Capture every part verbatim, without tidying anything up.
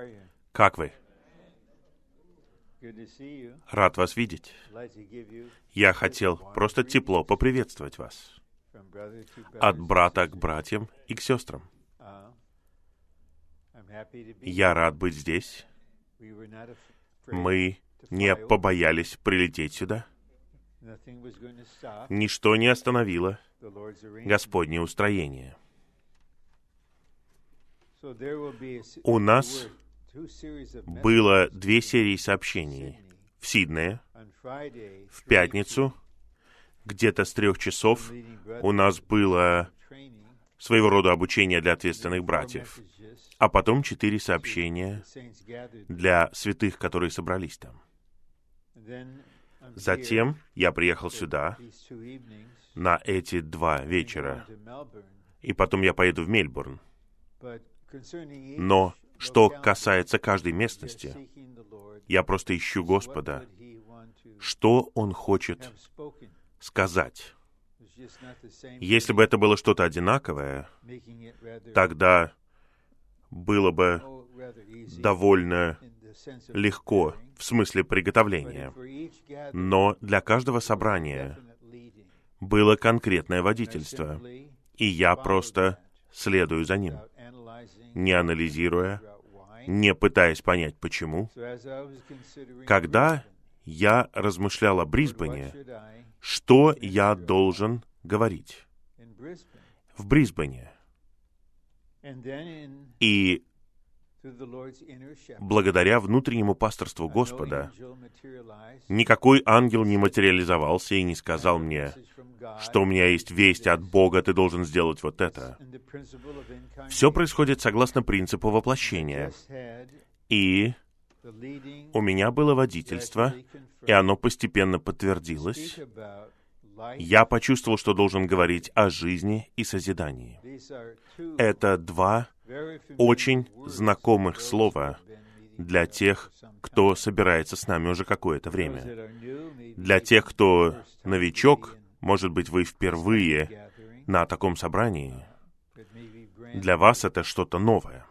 Как вы? Рад вас видеть. Я хотел просто тепло поприветствовать вас. От брата к братьям и к сестрам. Я рад быть здесь. Мы не побоялись прилететь сюда. Ничто не остановило Господне устроение. У нас было две серии сообщений. В Сиднее, в пятницу, где-то с трех часов, у нас было своего рода обучение для ответственных братьев. А потом четыре сообщения для святых, которые собрались там. Затем я приехал сюда на эти два вечера. И потом я поеду в Мельбурн. Но что касается каждой местности, я просто ищу Господа, что Он хочет сказать. Если бы это было что-то одинаковое, тогда было бы довольно легко в смысле приготовления. Но для каждого собрания было конкретное водительство, и я просто следую за ним, не анализируя, не пытаясь понять, почему. Когда я размышлял о Брисбене, что я должен говорить в Брисбене? И благодаря внутреннему пасторству Господа, никакой ангел не материализовался и не сказал мне, что у меня есть весть от Бога, ты должен сделать вот это. Все происходит согласно принципу воплощения. И у меня было водительство, и оно постепенно подтвердилось. Я почувствовал, что должен говорить о жизни и созидании. Это два очень знакомых слова для тех, кто собирается с нами уже какое-то время. Для тех, кто новичок, может быть, вы впервые на таком собрании. Для вас это что-то новое.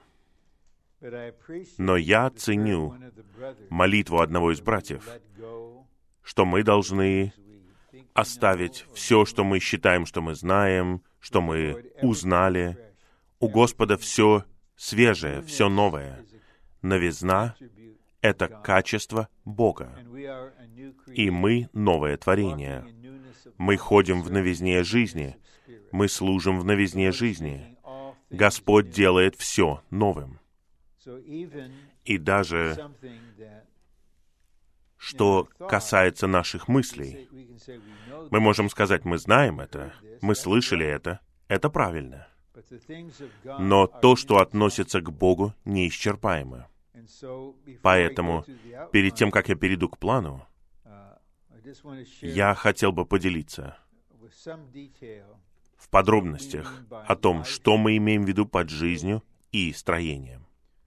Но я ценю молитву одного из братьев, что мы должны оставить все, что мы считаем, что мы знаем, что мы узнали. У Господа все свежее, все новое. Новизна — это качество Бога. И мы — новое творение. Мы ходим в новизне жизни. Мы служим в новизне жизни. Господь делает все новым. И даже что касается наших мыслей, мы можем сказать, мы знаем это, мы слышали это, это правильно. Но то, что относится к Богу, неисчерпаемо. Поэтому, перед тем, как я перейду к плану, я хотел бы поделиться в подробностях о том, что мы имеем в виду под жизнью и строением.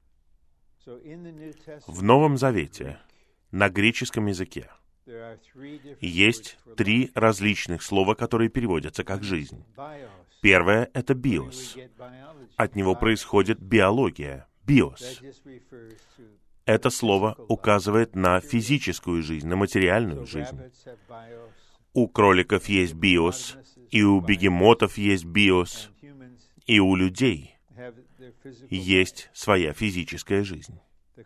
В Новом Завете на греческом языке есть три различных слова, которые переводятся как «жизнь». Первое — это «биос». От него происходит биология, «биос». Это слово указывает на физическую жизнь, на материальную жизнь. У кроликов есть биос, и у бегемотов есть биос, и у людей есть своя физическая жизнь.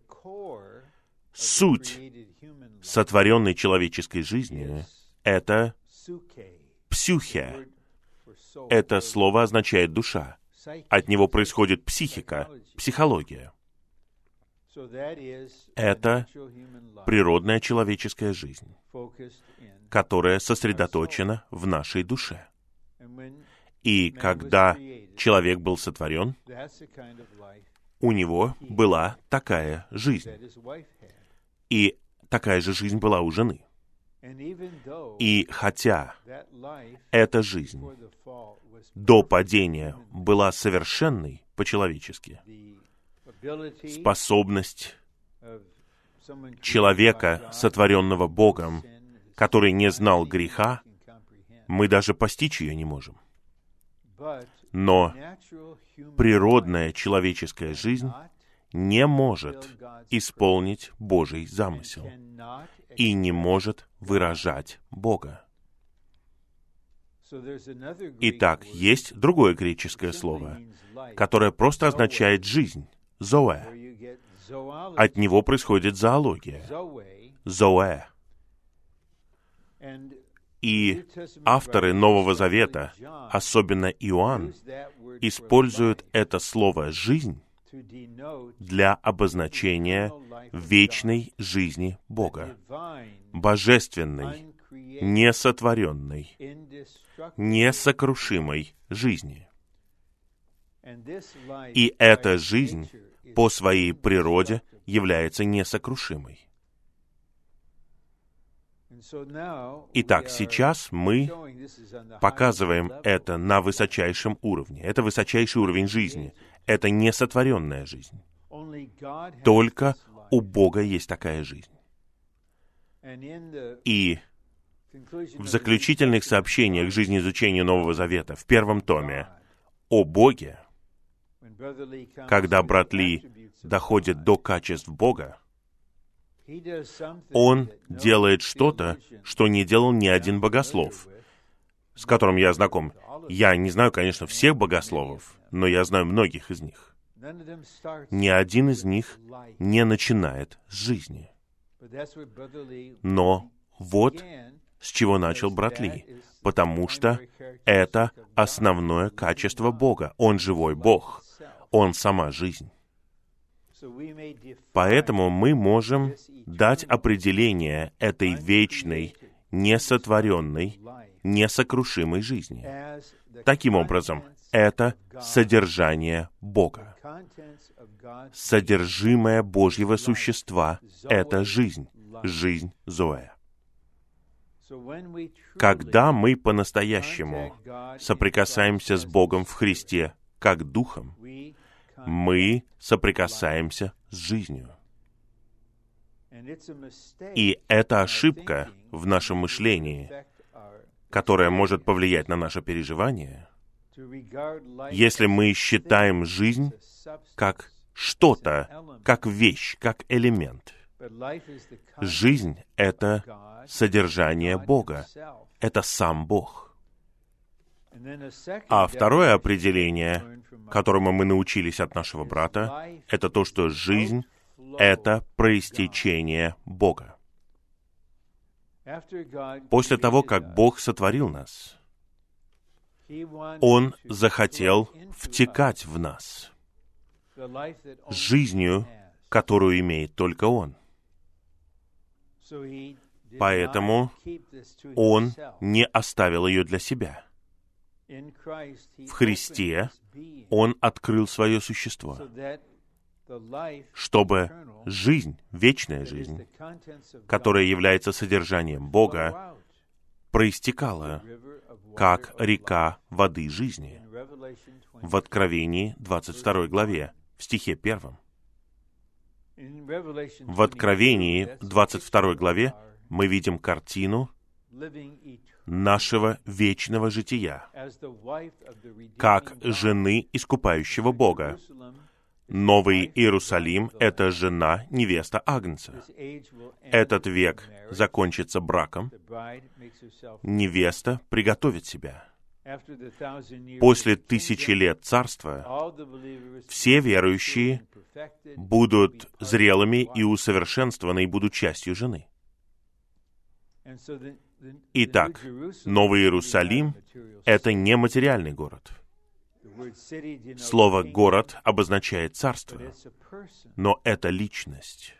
Суть сотворенной человеческой жизни — это псюхе. Это слово означает «душа». От него происходит психика, психология. Это природная человеческая жизнь, которая сосредоточена в нашей душе. И когда человек был сотворен, у него была такая жизнь. И такая же жизнь была у жены. И хотя эта жизнь до падения была совершенной по-человечески, способность человека, сотворенного Богом, который не знал греха, мы даже постичь ее не можем. Но природная человеческая жизнь не может исполнить Божий замысел и не может выражать Бога. Итак, есть другое греческое слово, которое просто означает «жизнь», «зоэ». От него происходит зоология, «зоэ». И авторы Нового Завета, особенно Иоанн, используют это слово «жизнь» для обозначения вечной жизни Бога, божественной, несотворенной, несокрушимой жизни. И эта жизнь по своей природе является несокрушимой. Итак, сейчас мы показываем это на высочайшем уровне. Это высочайший уровень жизни. Это несотворенная жизнь. Только у Бога есть такая жизнь. И в заключительных сообщениях жизнеизучения Нового Завета, в первом томе, о Боге, когда брат Ли доходит до качеств Бога, он делает что-то, что не делал ни один богослов, с которым я знаком. Я не знаю, конечно, всех богословов, но я знаю многих из них. Ни один из них не начинает с жизни. Но вот с чего начал брат Ли, потому что это основное качество Бога. Он живой Бог, Он сама жизнь. Поэтому мы можем дать определение этой вечной, несотворенной, несокрушимой жизни. Таким образом, это содержание Бога. Содержимое Божьего существа — это жизнь, жизнь Зоэ. Когда мы по-настоящему соприкасаемся с Богом в Христе как Духом, мы соприкасаемся с жизнью. И это ошибка в нашем мышлении, которая может повлиять на наше переживание, если мы считаем жизнь как что-то, как вещь, как элемент. Жизнь — это содержание Бога, это сам Бог. А второе определение, которому мы научились от нашего брата, это то, что жизнь — это проистечение Бога. После того, как Бог сотворил нас, Он захотел втекать в нас жизнью, которую имеет только Он. Поэтому Он не оставил ее для себя. В Христе Он открыл свое существо, чтобы жизнь, вечная жизнь, которая является содержанием Бога, проистекала, как река воды жизни, в Откровении двадцать второй главе, в стихе первом. В Откровении двадцать второй главе мы видим картину нашего вечного жития, как жены искупающего Бога. Новый Иерусалим — это жена, невеста Агнца. Этот век закончится браком. Невеста приготовит себя. После тысячи лет царства все верующие будут зрелыми и усовершенствованы и будут частью жены. Итак, Новый Иерусалим — это не материальный город. Слово «город» обозначает царство, но это личность.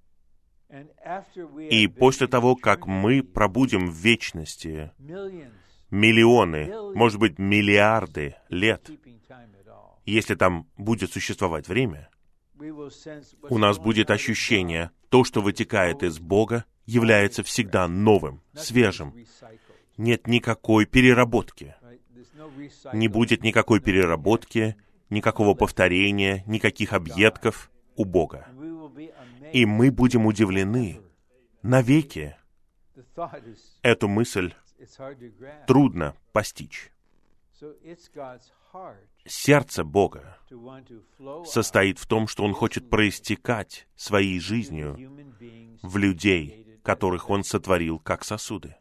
И после того, как мы пробудем в вечности миллионы, может быть, миллиарды лет, если там будет существовать время, у нас будет ощущение, то, что вытекает из Бога, является всегда новым, свежим. Нет никакой переработки. Не будет никакой переработки, никакого повторения, никаких объедков у Бога. И мы будем удивлены навеки. Эту мысль трудно постичь. Сердце Бога состоит в том, что Он хочет проистекать своей жизнью в людей, которых Он сотворил как сосуды.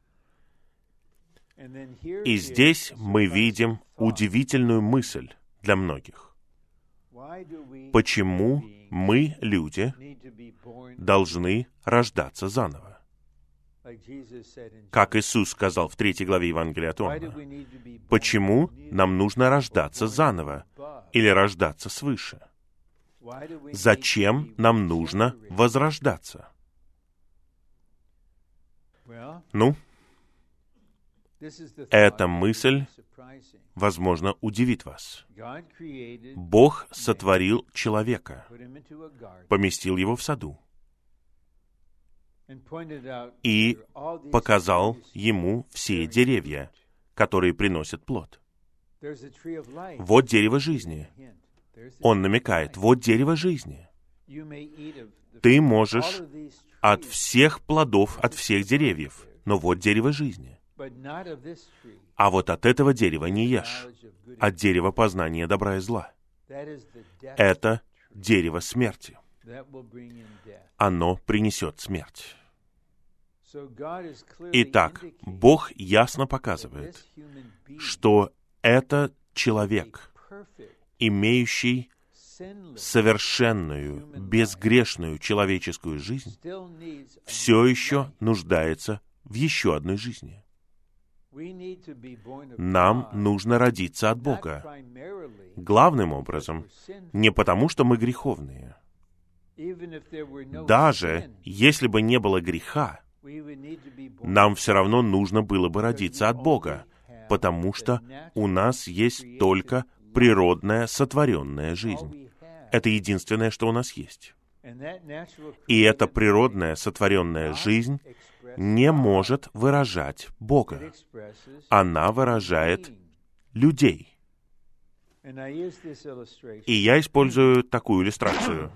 И здесь мы видим удивительную мысль для многих. Почему мы, люди, должны рождаться заново? Как Иисус сказал в третьей главе Евангелия от Иоанна, почему нам нужно рождаться заново или рождаться свыше? Зачем нам нужно возрождаться? Ну, эта мысль, возможно, удивит вас. Бог сотворил человека, поместил его в саду и показал ему все деревья, которые приносят плод. Вот дерево жизни. Он намекает, вот дерево жизни. Ты можешь от всех плодов, от всех деревьев, но вот дерево жизни. А вот от этого дерева не ешь, от дерева познания добра и зла. Это дерево смерти. Оно принесет смерть. Итак, Бог ясно показывает, что это человек, имеющий совершенную, безгрешную человеческую жизнь, все еще нуждается в еще одной жизни. Нам нужно родиться от Бога. Главным образом, не потому, что мы греховные. Даже если бы не было греха, нам все равно нужно было бы родиться от Бога, потому что у нас есть только природная сотворенная жизнь. Это единственное, что у нас есть. И эта природная сотворенная жизнь не может выражать Бога. Она выражает людей. И я использую такую иллюстрацию.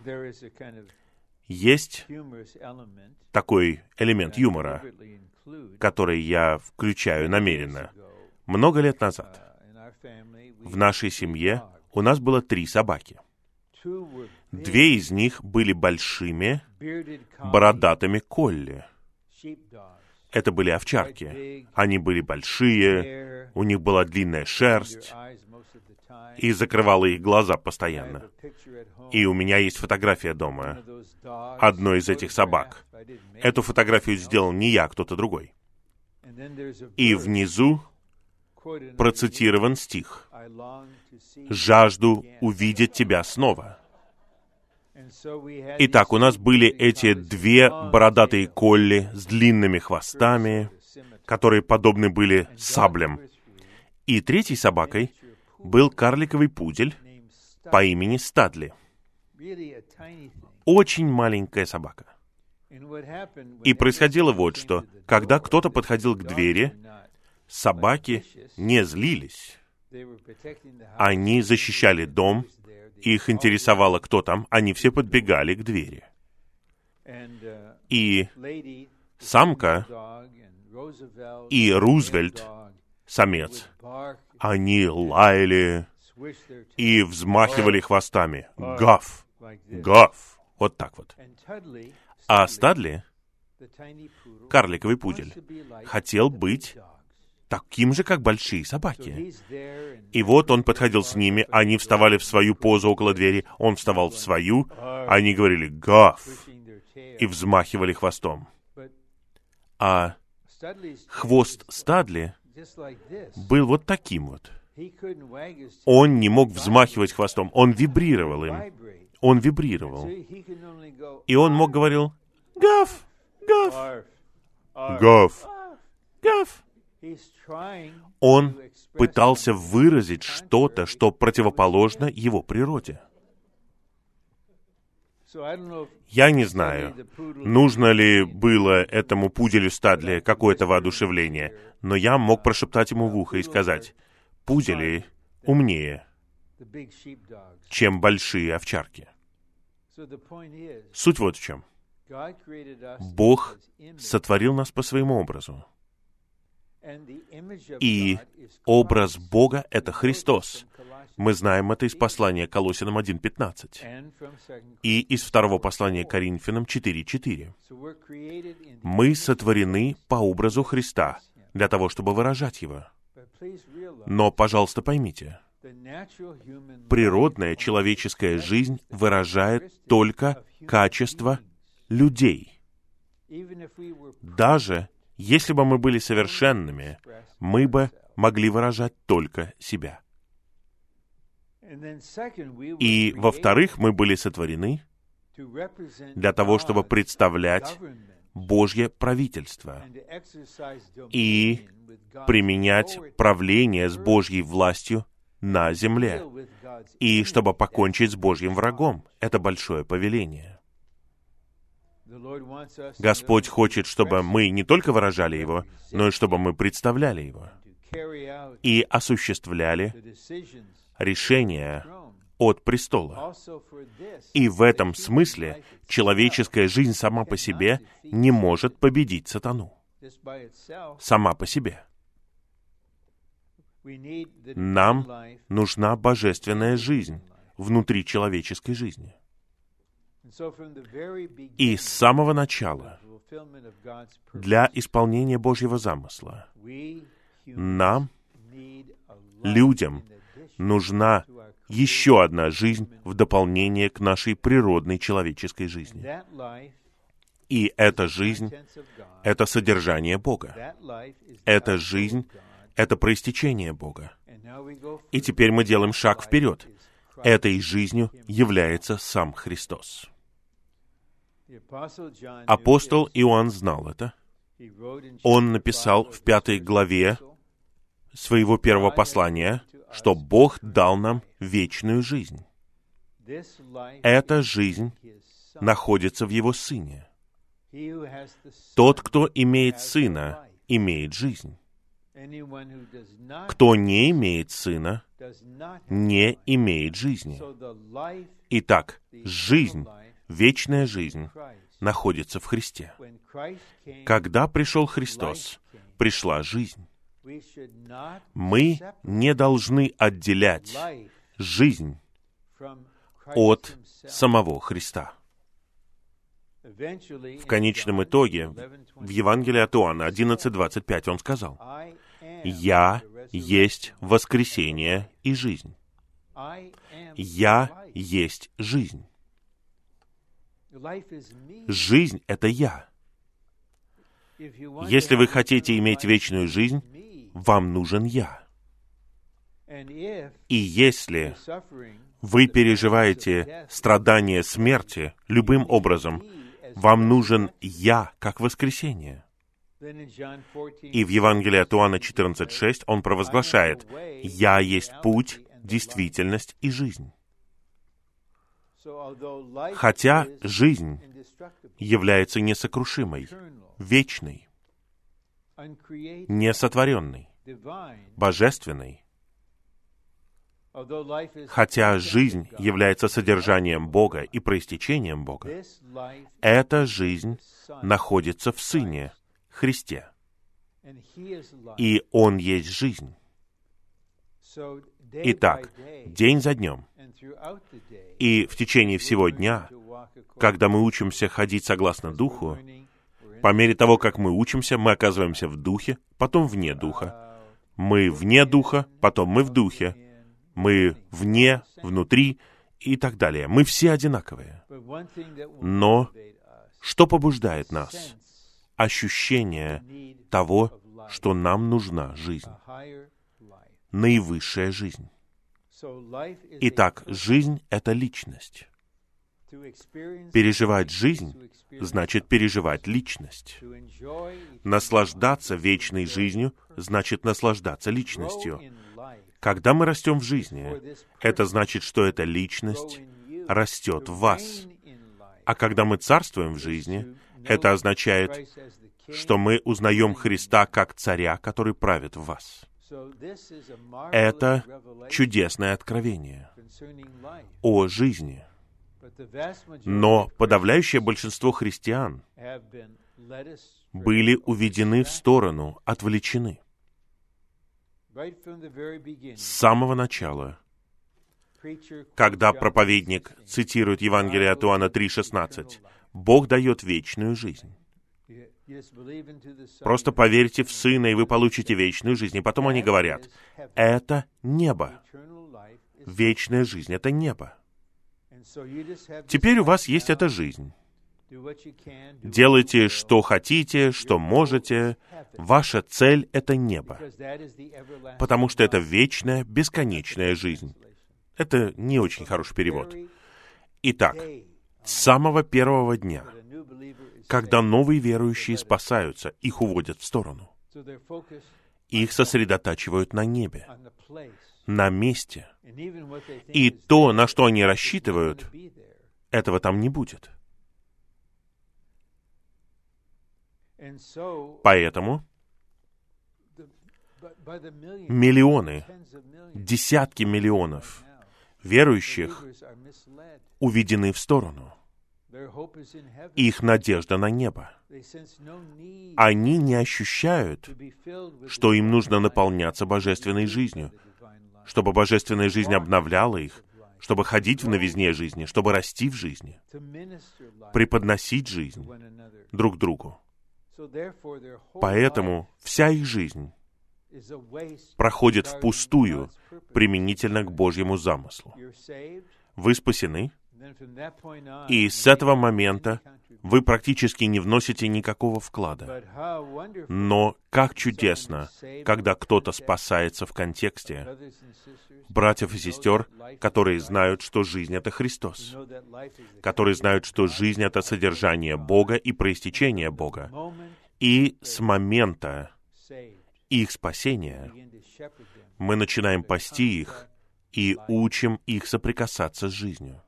Есть такой элемент юмора, который я включаю намеренно. Много лет назад в нашей семье у нас было три собаки. Две из них были большими, бородатыми колли. Это были овчарки. Они были большие, у них была длинная шерсть и закрывала их глаза постоянно. И у меня есть фотография дома одной из этих собак. Эту фотографию сделал не я, а кто-то другой. И внизу процитирован стих: «Жажду увидеть тебя снова». Итак, у нас были эти две бородатые колли с длинными хвостами, которые подобны были саблям. И третьей собакой был карликовый пудель по имени Стадли. Очень маленькая собака. И происходило вот что. Когда кто-то подходил к двери, собаки не злились. Они защищали дом, их интересовало, кто там, они все подбегали к двери. И самка и Рузвельт, самец, они лаяли и взмахивали хвостами. Гав! Гав! Вот так вот. А Стадли, карликовый пудель, хотел быть таким же, как большие собаки. И вот он подходил с ними, они вставали в свою позу около двери, он вставал в свою, они говорили «гав» и взмахивали хвостом. А хвост Стадли был вот таким вот. Он не мог взмахивать хвостом, он вибрировал им. Он вибрировал. И он мог говорил «гав! Гав! Гав! Гав!» Он пытался выразить что-то, что противоположно его природе. Я не знаю, нужно ли было этому пуделю Стадли какое-то воодушевление, но я мог прошептать ему в ухо и сказать: «Пудели умнее, чем большие овчарки». Суть вот в чем. Бог сотворил нас по своему образу. И образ Бога — это Христос. Мы знаем это из послания Колоссянам один пятнадцать и из второго послания Коринфянам четыре четыре. Мы сотворены по образу Христа для того, чтобы выражать Его. Но, пожалуйста, поймите, природная человеческая жизнь выражает только качество людей. Даже если бы мы были совершенными, мы бы могли выражать только себя. И, во-вторых, мы были сотворены для того, чтобы представлять Божье правительство и применять правление с Божьей властью на земле, и чтобы покончить с Божьим врагом. Это большое повеление. Господь хочет, чтобы мы не только выражали Его, но и чтобы мы представляли Его и осуществляли решения от престола. И в этом смысле человеческая жизнь сама по себе не может победить сатану. Сама по себе. Нам нужна божественная жизнь внутри человеческой жизни. И с самого начала, для исполнения Божьего замысла, нам, людям, нужна еще одна жизнь в дополнение к нашей природной человеческой жизни. И эта жизнь — это содержание Бога. Эта жизнь — это проистечение Бога. И теперь мы делаем шаг вперед. Этой жизнью является сам Христос. Апостол Иоанн знал это. Он написал в пятой главе своего первого послания, что Бог дал нам вечную жизнь. Эта жизнь находится в Его Сыне. Тот, кто имеет Сына, имеет жизнь. Кто не имеет Сына, не имеет жизни. Итак, жизнь, вечная жизнь, находится в Христе. Когда пришел Христос, пришла жизнь. Мы не должны отделять жизнь от самого Христа. В конечном итоге, в Евангелии от Иоанна одиннадцать двадцать пять он сказал: «Я есть воскресение и жизнь. Я есть жизнь». Жизнь — это я. Если вы хотите иметь вечную жизнь, вам нужен я. И если вы переживаете страдания смерти любым образом, вам нужен я как воскресение. И в Евангелии от Иоанна четырнадцать шесть он провозглашает: «Я есть путь, действительность и жизнь». Хотя жизнь является несокрушимой, вечной, несотворенной, божественной, хотя жизнь является содержанием Бога и проистечением Бога, эта жизнь находится в Сыне, Христе, и Он есть жизнь. Итак, день за днем и в течение всего дня, когда мы учимся ходить согласно Духу, по мере того, как мы учимся, мы оказываемся в Духе, потом вне Духа. Мы вне Духа, потом мы в Духе. Мы вне, внутри и так далее. Мы все одинаковые. Но что побуждает нас? Ощущение того, что нам нужна жизнь. Наивысшая жизнь. Итак, жизнь — это личность. Переживать жизнь значит переживать личность. Наслаждаться вечной жизнью значит наслаждаться личностью. Когда мы растем в жизни, это значит, что эта личность растет в вас. А когда мы царствуем в жизни, это означает, что мы узнаем Христа как царя, который правит в вас. Это чудесное откровение о жизни. Но подавляющее большинство христиан были уведены в сторону, отвлечены. С самого начала, когда проповедник цитирует Евангелие от Иоанна три шестнадцать, Бог дает вечную жизнь. Просто поверьте в Сына, и вы получите вечную жизнь. И потом они говорят, это небо. Вечная жизнь — это небо. Теперь у вас есть эта жизнь. Делайте, что хотите, что можете. Ваша цель — это небо. Потому что это вечная, бесконечная жизнь. Это не очень хороший перевод. Итак, с самого первого дня, когда новые верующие спасаются, их уводят в сторону. Их сосредотачивают на небе, на месте. И то, на что они рассчитывают, этого там не будет. Поэтому миллионы, десятки миллионов верующих уведены в сторону. Их надежда на небо. Они не ощущают, что им нужно наполняться божественной жизнью, чтобы божественная жизнь обновляла их, чтобы ходить в новизне жизни, чтобы расти в жизни, преподносить жизнь друг другу. Поэтому вся их жизнь проходит впустую применительно к Божьему замыслу. Вы спасены, и с этого момента вы практически не вносите никакого вклада. Но как чудесно, когда кто-то спасается в контексте братьев и сестер, которые знают, что жизнь — это Христос, которые знают, что жизнь — это содержание Бога и проистечение Бога. И с момента их спасения мы начинаем пасти их и учим их соприкасаться с жизнью.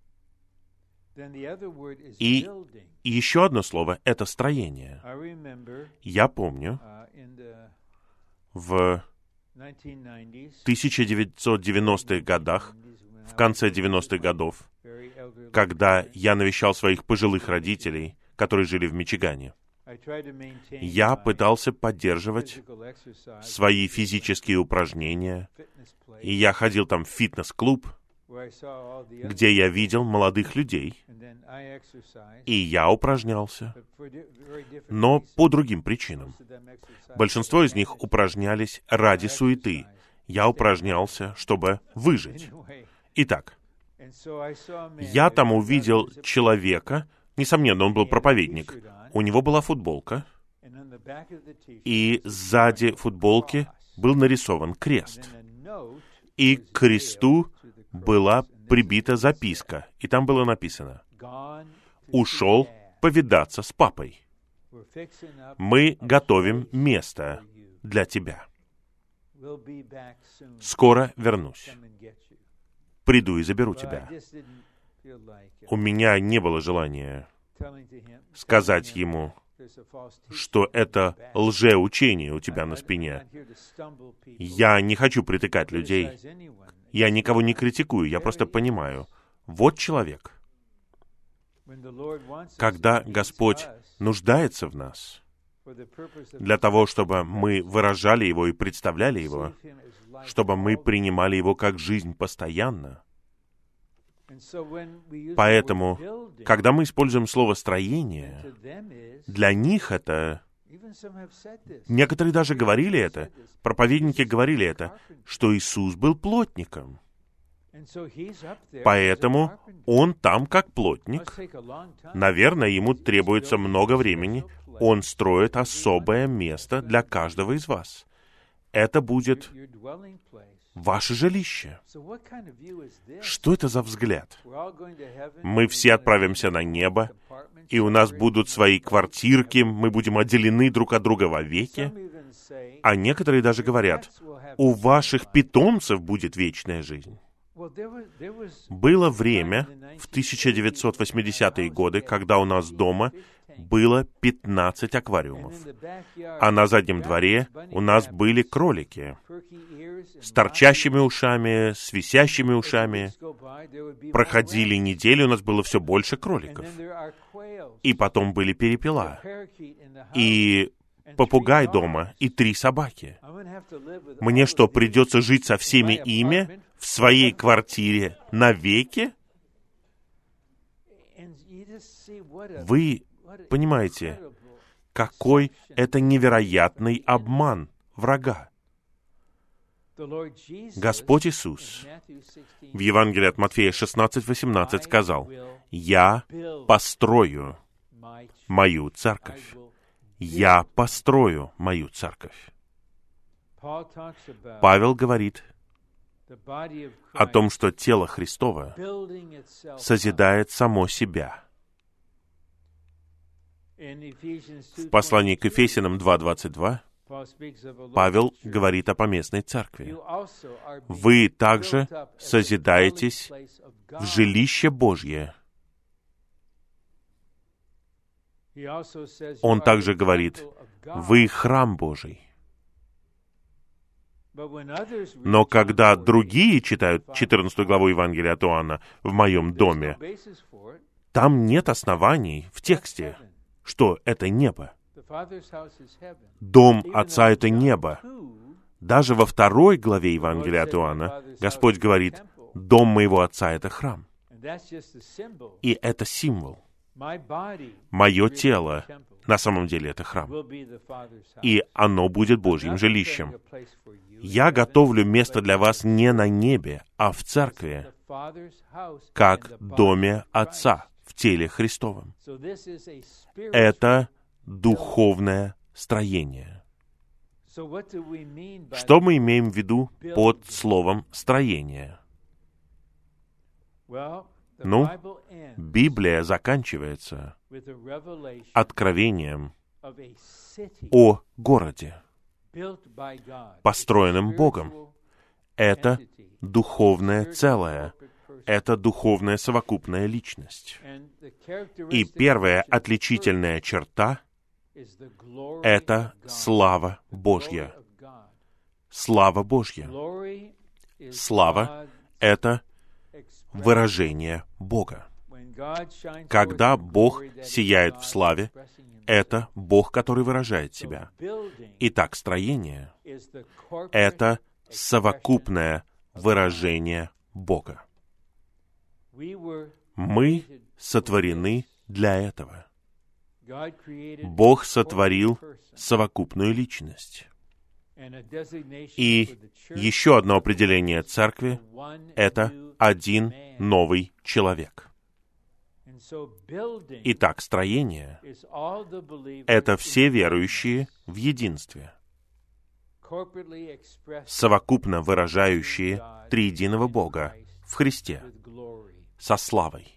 И еще одно слово — это строение. Я помню, в тысяча девятьсот девяностых годах, в конце девяностых годов, когда я навещал своих пожилых родителей, которые жили в Мичигане, я пытался поддерживать свои физические упражнения, и я ходил там в фитнес-клуб, где я видел молодых людей, и я упражнялся, но по другим причинам. Большинство из них упражнялись ради суеты. Я упражнялся, чтобы выжить. Итак, я там увидел человека, несомненно, он был проповедник, у него была футболка, и сзади футболки был нарисован крест. И к кресту была прибита записка, и там было написано: «Ушел повидаться с папой. Мы готовим место для тебя. Скоро вернусь. Приду и заберу тебя». У меня не было желания сказать ему, что это лжеучение у тебя на спине. Я не хочу притыкать людей. Я никого не критикую, я просто понимаю. Вот человек. Когда Господь нуждается в нас, для того, чтобы мы выражали Его и представляли Его, чтобы мы принимали Его как жизнь постоянно. Поэтому, когда мы используем слово «строение», для них это... Некоторые даже говорили это, проповедники говорили это, что Иисус был плотником. Поэтому Он там как плотник. Наверное, Ему требуется много времени. Он строит особое место для каждого из вас. Это будет ваше жилище. Что это за взгляд? Мы все отправимся на небо, и у нас будут свои квартирки, мы будем отделены друг от друга вовеки. А некоторые даже говорят, у ваших питомцев будет вечная жизнь. Было время в тысяча девятьсот восьмидесятые годы, когда у нас дома было пятнадцать аквариумов. А на заднем дворе у нас были кролики с торчащими ушами, с висящими ушами. Проходили недели, у нас было все больше кроликов. И потом были перепела. И попугай дома и три собаки. Мне что, придется жить со всеми ими в своей квартире навеки? Вы понимаете, какой это невероятный обман врага. Господь Иисус в Евангелии от Матфея шестнадцать восемнадцать сказал: «Я построю мою церковь». «Я построю мою церковь». Павел говорит о том, что тело Христово созидает само себя. В послании к Ефесянам два двадцать два Павел говорит о поместной церкви. «Вы также созидаетесь в жилище Божье». Он также говорит: «Вы храм Божий». Но когда другие читают четырнадцатую главу Евангелия от Иоанна «в моем доме», там нет оснований в тексте, что это небо. Дом Отца — это небо. Даже во второй главе Евангелия от Иоанна Господь говорит: «Дом моего Отца — это храм». И это символ. Мое тело на самом деле это храм. И оно будет Божьим жилищем. Я готовлю место для вас не на небе, а в церкви, как в доме Отца, в теле Христовом. Это духовное строение. Что мы имеем в виду под словом «строение»? Ну, Библия заканчивается откровением о городе, построенном Богом. Это духовное целое, это духовная совокупная личность. И первая отличительная черта — это слава Божья. Слава Божья. Слава — это выражение Бога. Когда Бог сияет в славе, это Бог, который выражает себя. Итак, строение — это совокупное выражение Бога. Мы сотворены для этого. Бог сотворил совокупную личность. И еще одно определение церкви — это один новый человек. Итак, строение — это все верующие в единстве, совокупно выражающие триединого Бога в Христе со славой.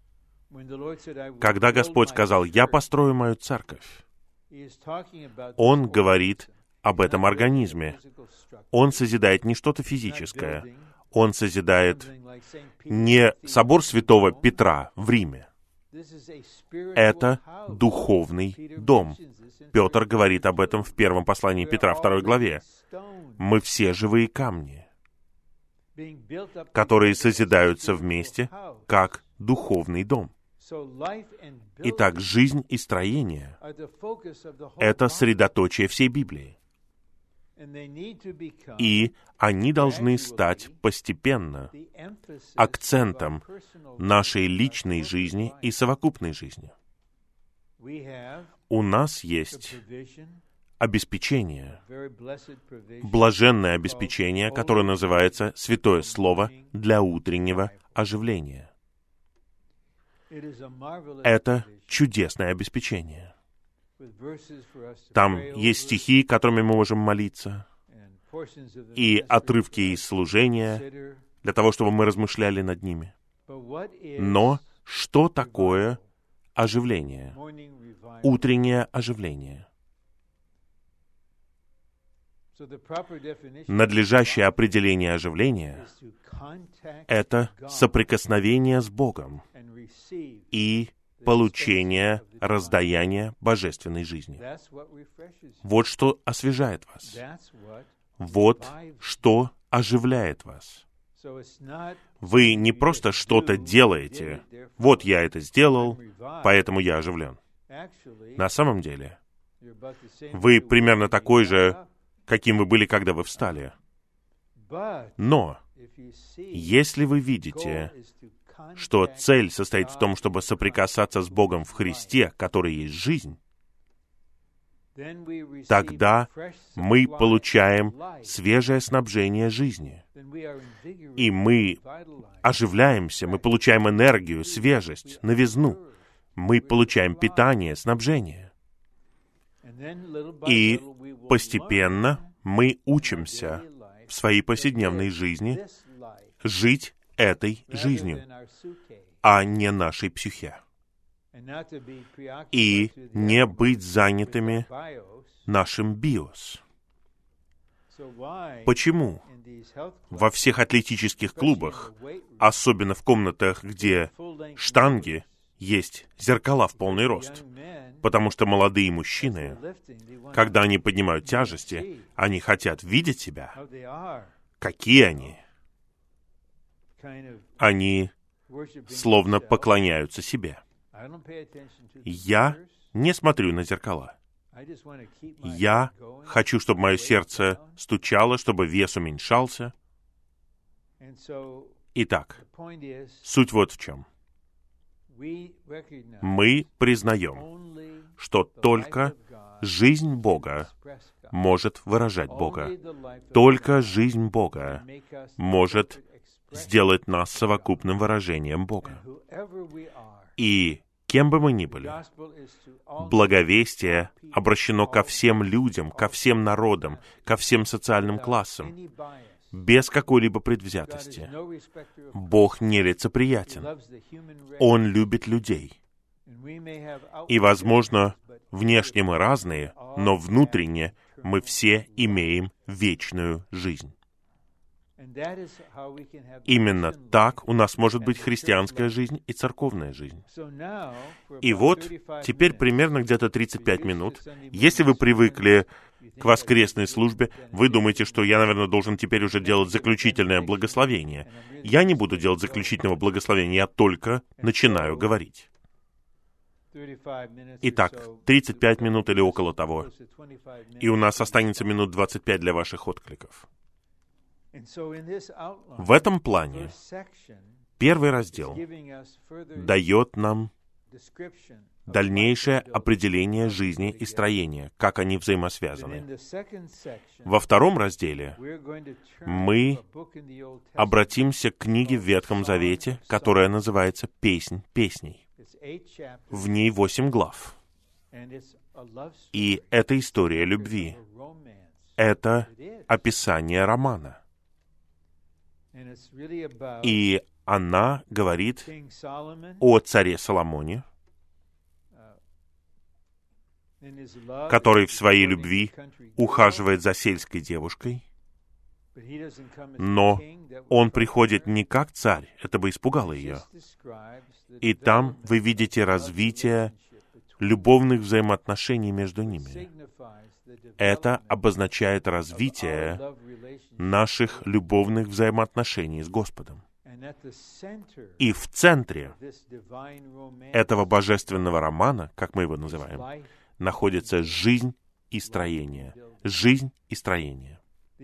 Когда Господь сказал: «Я построю мою церковь», Он говорит об этом организме. Он созидает не что-то физическое. Он созидает не собор святого Петра в Риме. Это духовный дом. Петр говорит об этом в первом послании Петра, второй главе. Мы все живые камни, которые созидаются вместе, как духовный дом. Итак, жизнь и строение — это средоточие всей Библии. И они должны стать постепенно акцентом нашей личной жизни и совокупной жизни. У нас есть обеспечение, блаженное обеспечение, которое называется «Святое Слово для утреннего оживления». Это чудесное обеспечение. Там есть стихи, которыми мы можем молиться, и отрывки из служения, для того, чтобы мы размышляли над ними. Но что такое оживление? Утреннее оживление. Надлежащее определение оживления — это соприкосновение с Богом и получение раздаяния божественной жизни. Вот что освежает вас. Вот что оживляет вас. Вы не просто что-то делаете. Вот я это сделал, поэтому я оживлен. На самом деле, Вы примерно такой же, каким вы были, когда вы встали. Но если вы видите, что цель состоит в том, чтобы соприкасаться с Богом в Христе, который есть жизнь, тогда мы получаем свежее снабжение жизни. И мы оживляемся, мы получаем энергию, свежесть, новизну. Мы получаем питание, снабжение. И постепенно мы учимся в своей повседневной жизни жить этой жизнью, а не нашей психе. И не быть занятыми нашим биос. Почему во всех атлетических клубах, особенно в комнатах, где штанги, есть зеркала в полный рост? Потому что молодые мужчины, когда они поднимают тяжести, они хотят видеть себя. Какие они? Они словно поклоняются себе. Я не смотрю на зеркала. Я хочу, чтобы мое сердце стучало, чтобы вес уменьшался. Итак, суть вот в чем. Мы признаем, что только жизнь Бога может выражать Бога. Только жизнь Бога может сделать нас совокупным выражением Бога. И кем бы мы ни были, благовестие обращено ко всем людям, ко всем народам, ко всем социальным классам, без какой-либо предвзятости. Бог нелицеприятен. Он любит людей. И, возможно, внешне мы разные, но внутренне мы все имеем вечную жизнь. Именно так у нас может быть христианская жизнь и церковная жизнь. И вот, теперь примерно где-то тридцать пять минут. Если вы привыкли к воскресной службе, вы думаете, что я, наверное, должен теперь уже делать заключительное благословение. Я не буду делать заключительного благословения, я только начинаю говорить. Итак, тридцать пять минут или около того. И у нас останется минут двадцать пять для ваших откликов. В этом плане первый раздел дает нам дальнейшее определение жизни и строения, как они взаимосвязаны. Во втором разделе мы обратимся к книге в Ветхом Завете, которая называется «Песнь песней». В ней восемь глав. И это история любви. Это описание романа. И она говорит о царе Соломоне, который в своей любви ухаживает за сельской девушкой, но он приходит не как царь, это бы испугало ее. И там вы видите развитие любовных взаимоотношений между ними. Это обозначает развитие наших любовных взаимоотношений с Господом. И в центре этого божественного романа, как мы его называем, находится жизнь и строение. Жизнь и строение.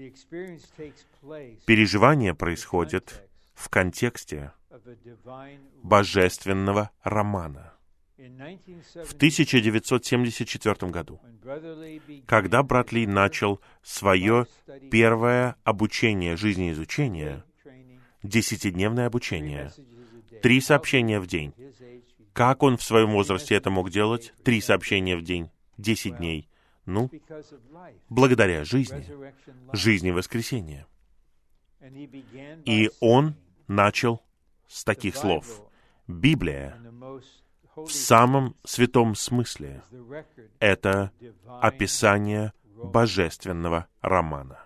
Переживание происходит в контексте божественного романа. В тысяча девятьсот семьдесят четвёртом году, когда брат Ли начал свое первое обучение жизнеизучения, десятидневное обучение, три сообщения в день. Как он в своем возрасте это мог делать? Три сообщения в день, десять дней. Ну, благодаря жизни, жизни воскресения. И он начал с таких слов. Библия в самом святом смысле — это описание божественного романа.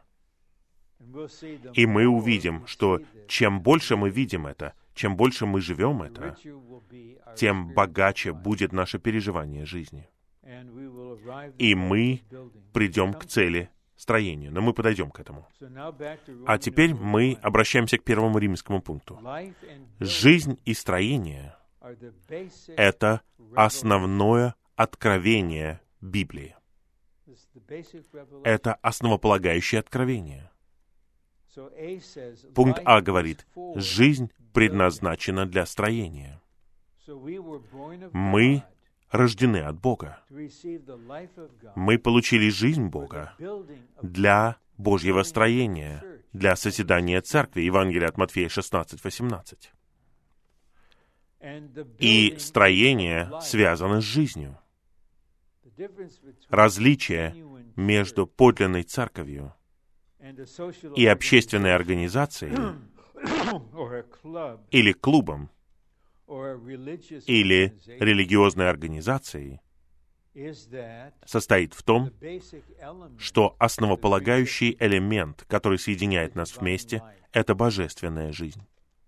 И мы увидим, что чем больше мы видим это, чем больше мы живем это, тем богаче будет наше переживание жизни. И мы придем к цели строения, но мы подойдем к этому. А теперь мы обращаемся к первому римскому пункту. Жизнь и строение — это основное откровение Библии. Это основополагающее откровение. Пункт А говорит, жизнь предназначена для строения. Мы рождены от Бога. Мы получили жизнь Бога для Божьего строения, для созидания церкви. Евангелие от Матфея шестнадцать восемнадцать. И строение связано с жизнью. Различие между подлинной церковью и общественной организацией или клубом или религиозной организацией состоит в том, что основополагающий элемент, который соединяет нас вместе, это божественная жизнь.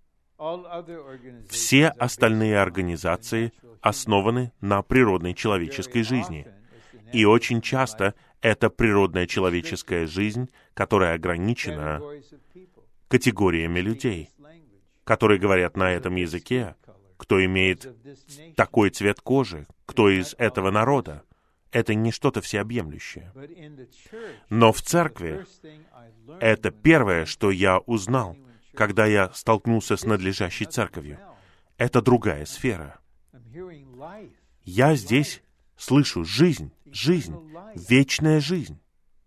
Все остальные организации основаны на природной человеческой жизни. И очень часто это природная человеческая жизнь, которая ограничена категориями людей, которые говорят на этом языке, кто имеет такой цвет кожи, кто из этого народа. Это не что-то всеобъемлющее. Но в церкви это первое, что я узнал, когда я столкнулся с надлежащей церковью. Это другая сфера. Я здесь слышу жизнь, жизнь, вечная жизнь.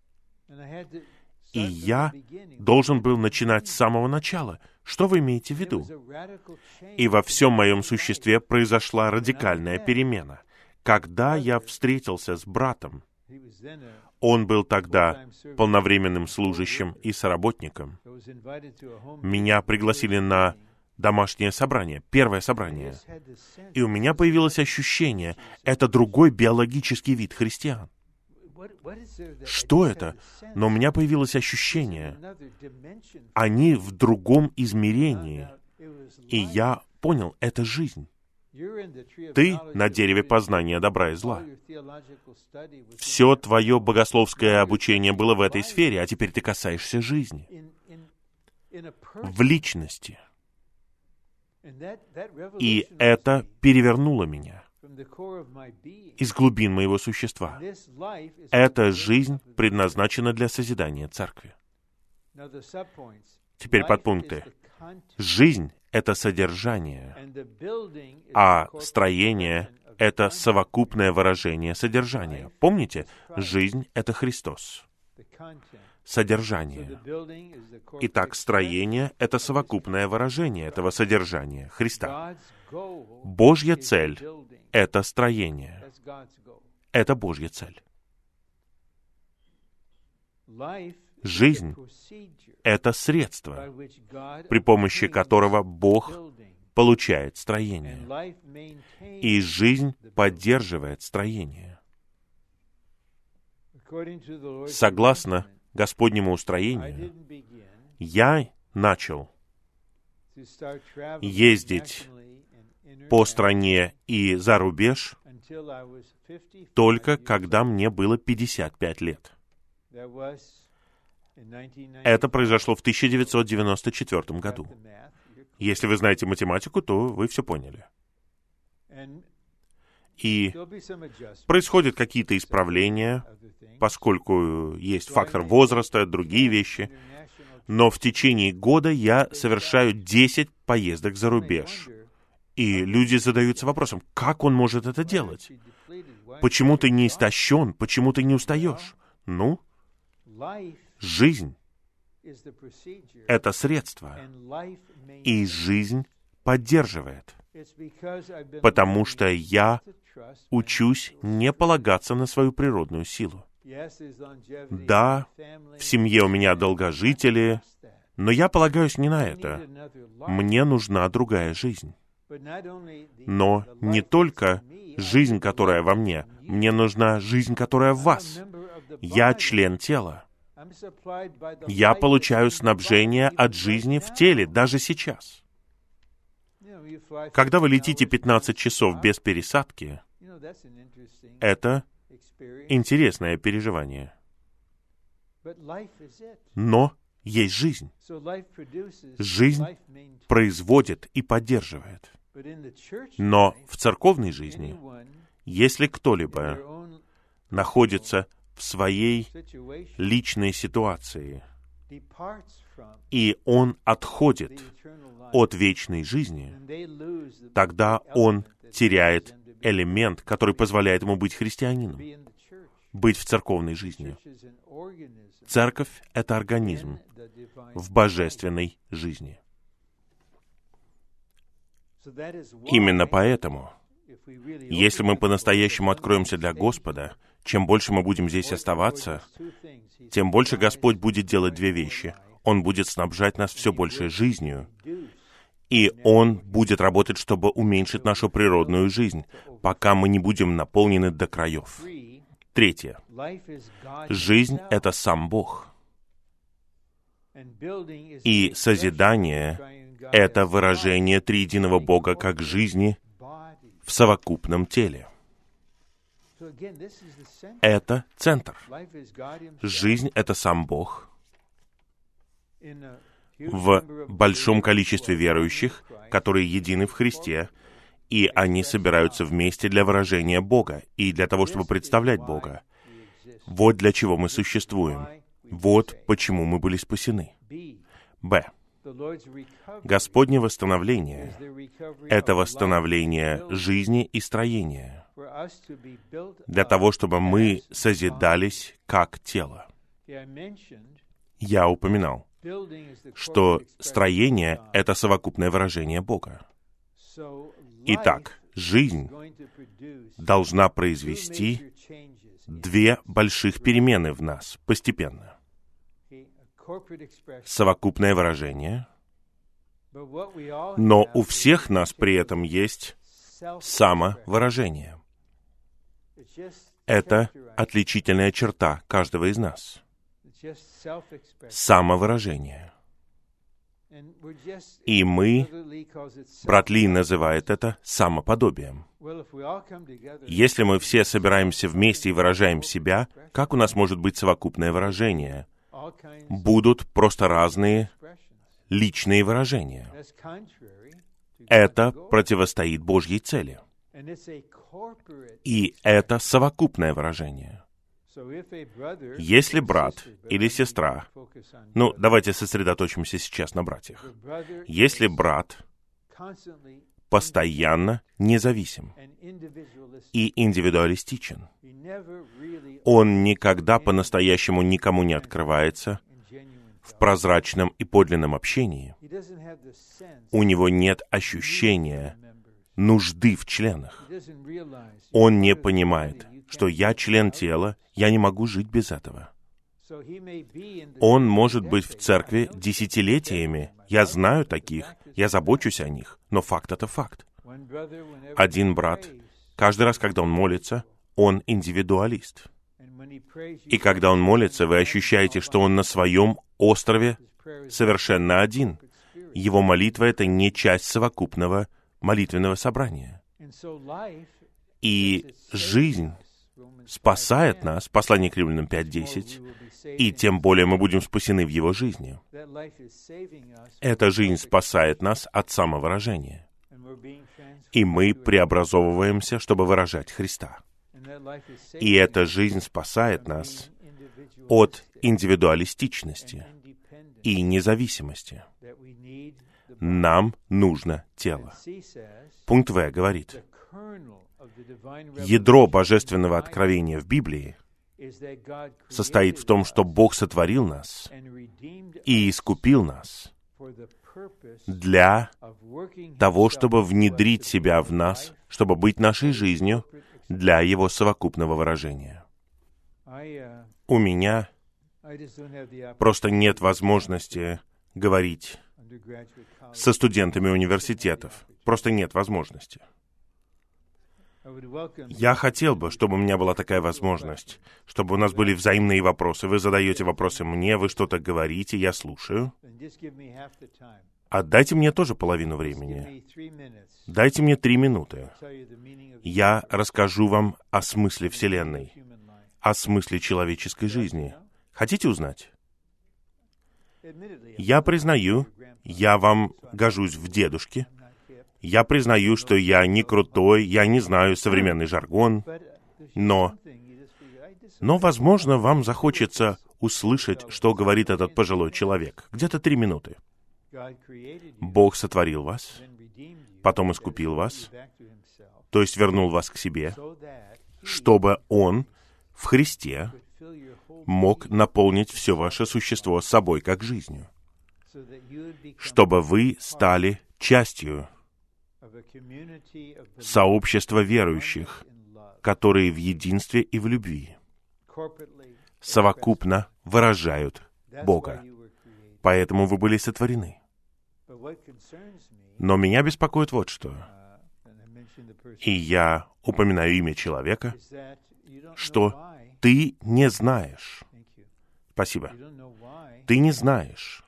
И я должен был начинать с самого начала. Что вы имеете в виду? И во всем моем существе произошла радикальная перемена. Когда я встретился с братом, он был тогда полновременным служащим и соработником. Меня пригласили на домашнее собрание, первое собрание. И у меня появилось ощущение, это другой биологический вид христиан. Что это? Но у меня появилось ощущение, они в другом измерении. И я понял, это жизнь. Ты на дереве познания добра и зла. Все твое богословское обучение было в этой сфере, а теперь ты касаешься жизни. В личности. И это перевернуло меня из глубин моего существа. Эта жизнь предназначена для созидания церкви. Теперь подпункты. Жизнь — это содержание, а строение — это совокупное выражение содержания. Помните, жизнь — это Христос. Содержание. Итак, строение — это совокупное выражение этого содержания Христа. Божья цель — это строение. Это Божья цель. Жизнь — это средство, при помощи которого Бог получает строение. И жизнь поддерживает строение. Согласно Господнему устроению, я начал ездить по стране и за рубеж только когда мне было пятьдесят пять лет. Это произошло в тысяча девятьсот девяносто четвёртом году. Если вы знаете математику, то вы все поняли. И происходят какие-то исправления, поскольку есть фактор возраста, другие вещи. Но в течение года я совершаю десять поездок за рубеж. И люди задаются вопросом, как он может это делать? Почему ты не истощен? Почему ты не устаешь? Ну, жизнь — это средство, и жизнь поддерживает. Потому что я учусь не полагаться на свою природную силу. Да, в семье у меня долгожители, но я полагаюсь не на это. Мне нужна другая жизнь. Но не только жизнь, которая во мне. Мне нужна жизнь, которая в вас. Я член тела. Я получаю снабжение от жизни в теле, даже сейчас. Когда вы летите пятнадцать часов без пересадки, это интересное переживание. Но есть жизнь. Жизнь производит и поддерживает. Но в церковной жизни, если кто-либо находится в своей личной ситуации, и он отходит от вечной жизни, тогда он теряет элемент, который позволяет ему быть христианином, быть в церковной жизни. Церковь — это организм в божественной жизни. Именно поэтому, если мы по-настоящему откроемся для Господа, чем больше мы будем здесь оставаться, тем больше Господь будет делать две вещи. Он будет снабжать нас все большей жизнью, и Он будет работать, чтобы уменьшить нашу природную жизнь, пока мы не будем наполнены до краев. Третье. Жизнь — это сам Бог. И созидание — это выражение триединого Бога как жизни в совокупном теле. Это центр. Жизнь — это сам Бог. В большом количестве верующих, которые едины в Христе, и они собираются вместе для выражения Бога и для того, чтобы представлять Бога. Вот для чего мы существуем. Вот почему мы были спасены. Б. Господне восстановление — это восстановление жизни и строения, для того, чтобы мы созидались как тело. Я упоминал, что строение — это совокупное выражение Бога. Итак, жизнь должна произвести две больших перемены в нас постепенно. Совокупное выражение, но у всех нас при этом есть самовыражение. Это отличительная черта каждого из нас. Самовыражение. И мы, брат Ли называет это самоподобием. Если мы все собираемся вместе и выражаем себя, как у нас может быть совокупное выражение? Будут просто разные личные выражения. Это противостоит Божьей цели. И это совокупное выражение. Если брат или сестра, ну, давайте сосредоточимся сейчас на братьях. Если брат постоянно независим и индивидуалистичен, он никогда по-настоящему никому не открывается в прозрачном и подлинном общении, у него нет ощущения нужды в членах. Он не понимает, что я член тела, я не могу жить без этого. Он может быть в церкви десятилетиями, я знаю таких, я забочусь о них, но факт — это факт. Один брат, каждый раз, когда он молится, он индивидуалист. И когда он молится, вы ощущаете, что он на своем острове совершенно один. Его молитва — это не часть совокупного молитвенного собрания. И жизнь спасает нас, послание к Римлянам пять десять, и тем более мы будем спасены в Его жизни. Эта жизнь спасает нас от самовыражения. И мы преобразовываемся, чтобы выражать Христа. И эта жизнь спасает нас от индивидуалистичности и независимости. Нам нужно тело. Пункт В говорит, ядро божественного откровения в Библии состоит в том, что Бог сотворил нас и искупил нас для того, чтобы внедрить себя в нас, чтобы быть нашей жизнью для Его совокупного выражения. У меня просто нет возможности говорить со студентами университетов. Просто нет возможности. Я хотел бы, чтобы у меня была такая возможность, чтобы у нас были взаимные вопросы. Вы задаете вопросы мне, вы что-то говорите, я слушаю. Отдайте мне тоже половину времени. Дайте мне три минуты. Я расскажу вам о смысле Вселенной, о смысле человеческой жизни. Хотите узнать? Я признаю, я вам гожусь в дедушке. Я признаю, что я не крутой, я не знаю современный жаргон, но Но, возможно, вам захочется услышать, что говорит этот пожилой человек. Где-то три минуты. Бог сотворил вас, потом искупил вас, то есть вернул вас к себе, чтобы Он в Христе мог наполнить все ваше существо собой как жизнью, чтобы вы стали частью сообщества верующих, которые в единстве и в любви совокупно выражают Бога. Поэтому вы были сотворены. Но меня беспокоит вот что. И я упоминаю имя человека, что ты не знаешь. Спасибо. Ты не знаешь,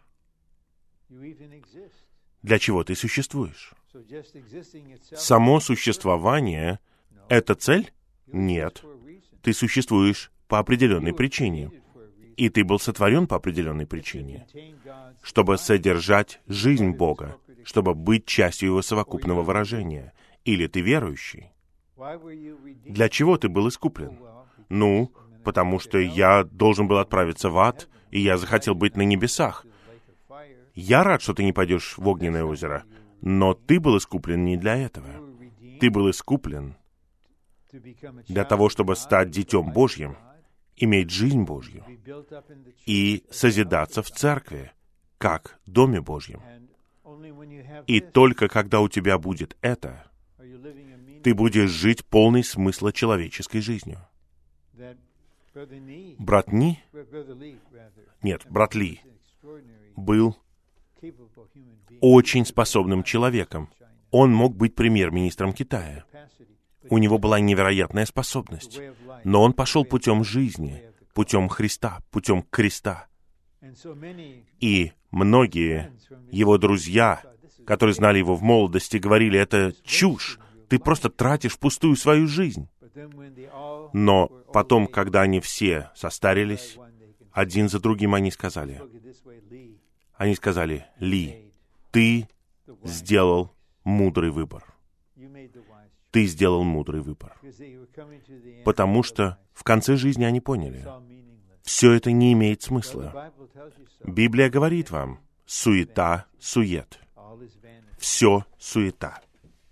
для чего ты существуешь. Само существование — это цель? Нет. Ты существуешь по определенной причине. И ты был сотворен по определенной причине, чтобы содержать жизнь Бога, чтобы быть частью Его совокупного выражения. Или ты верующий. Для чего ты был искуплен? Ну, потому что я должен был отправиться в ад, и я захотел быть на небесах. Я рад, что ты не пойдешь в огненное озеро, но ты был искуплен не для этого. Ты был искуплен для того, чтобы стать Детем Божьим, иметь жизнь Божью и созидаться в церкви, как в Доме Божьем. И только когда у тебя будет это, ты будешь жить полной смысла человеческой жизнью. Брат Ни, нет, брат Ли, был очень способным человеком. Он мог быть премьер-министром Китая. У него была невероятная способность. Но он пошел путем жизни, путем Христа, путем креста. И многие его друзья, которые знали его в молодости, говорили: это чушь, ты просто тратишь впустую свою жизнь. Но потом, когда они все состарились, один за другим они сказали, они сказали: Ли, ты сделал мудрый выбор. Ты сделал мудрый выбор. Потому что в конце жизни они поняли, все это не имеет смысла. Библия говорит вам: суета, сует. Все суета.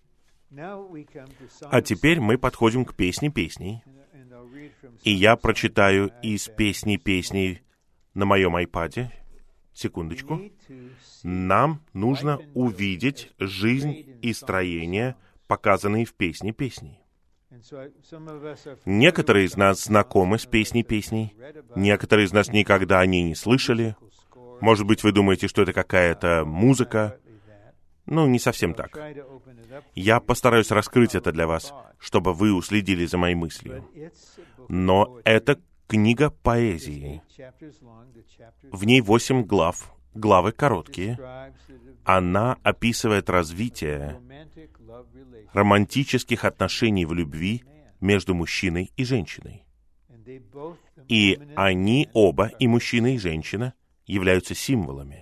А теперь мы подходим к песне песней. И я прочитаю из песни песней на моем айпаде. Секундочку. Нам нужно увидеть жизнь и строение, показанные в песне песней. Некоторые из нас знакомы с песней песней, некоторые из нас никогда о ней не слышали. Может быть, вы думаете, что это какая-то музыка. Ну, не совсем так. Я постараюсь раскрыть это для вас, чтобы вы уследили за моей мыслью. Но это книга поэзии. В ней восемь глав, главы короткие. Она описывает развитие романтических отношений в любви между мужчиной и женщиной. И они оба, и мужчина, и женщина, являются символами.